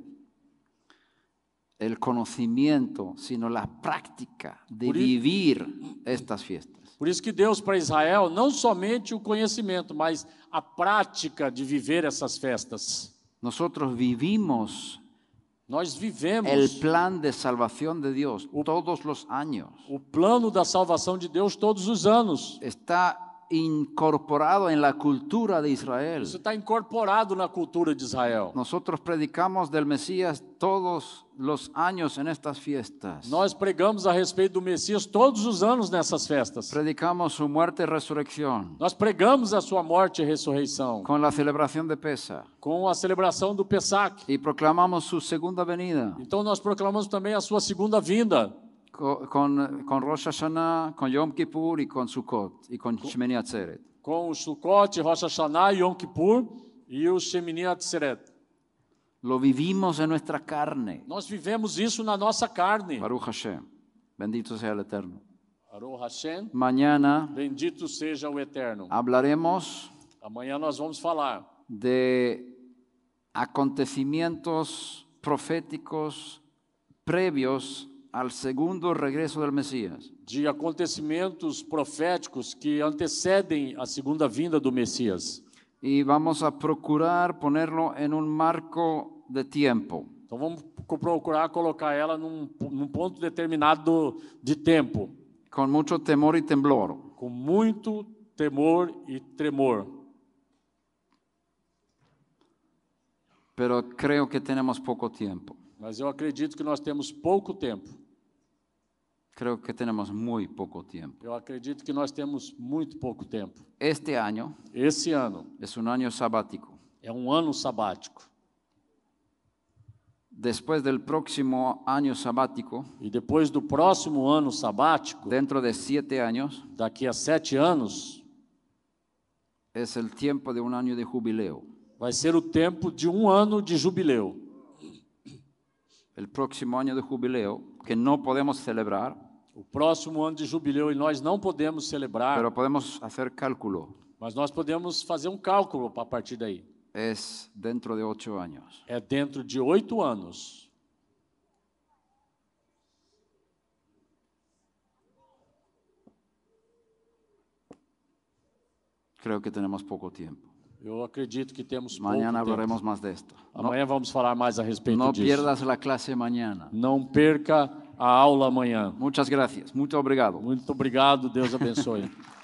el conocimiento, sino la práctica de vivir estas fiestas. Por isso que Deus para Israel não somente o conhecimento, mas a prática de viver essas festas. Nosotros vivimos Nós vivemos el plan de salvación de Dios todos los años. o plano da salvação de Deus todos os anos. Está incorporado en la cultura de Israel. Isso está incorporado na cultura de Israel. Nosotros predicamos del Mesías todos los años en estas fiestas. Nós pregamos a respeito do Messias todos os anos nessas festas. Predicamos su muerte y resurrección Nós pregamos a sua morte e ressurreição con la celebración de Pesach com a celebração do Pesach. y proclamamos su segunda venida Então nós proclamamos também a sua segunda vinda. con Rosh Hashanah, con Yom Kippur y con Sukkot y con Shemini Atzeret. Com o Sukkot, Rosh Hashanah, Yom Kippur e o Shemini Atzeret. Lo vivimos en nuestra carne. Nós vivemos isso na nossa carne. Baruch Hashem. Bendito sea el Eterno. Baruch Hashem, Mañana bendito seja o Eterno. hablaremos Amanhã nós vamos falar de acontecimientos proféticos previos al segundo regreso del Mesías. de acontecimentos proféticos que antecedem a segunda vinda do Messias. Y vamos a procurar ponerlo en un marco de tiempo. Então vamos procurar colocar ela num ponto determinado de tempo, Con mucho temor y temblor. com muito temor e tremor. Pero creo que tenemos poco tiempo. Mas eu acredito que nós temos pouco tempo. Creo que tenemos muy poco tiempo. Eu acredito que nós temos muito pouco tempo. Este año Esse ano es un año sabático. é um ano sabático. Después del próximo año sabático, E depois do próximo ano sabático, dentro de 7 años, daqui a 7 anos, es el tiempo de un año de jubileo. vai ser o tempo de um ano de jubileu. El próximo año de jubileo, que no podemos celebrar, O próximo ano de jubileu, e nós não podemos celebrar, pero podemos hacer cálculo, mas nós podemos fazer um cálculo a partir daí. es dentro de 8 años. É dentro de 8 anos. Creo que tenemos poco tiempo. Eu acredito que temos pouco Mañana tempo. hablaremos más de esto. Amanhã vamos falar mais a respeito No disso. pierdas la clase mañana. Não perca a aula amanhã. Muchas gracias. Muito obrigado. Muito obrigado, Deus abençoe.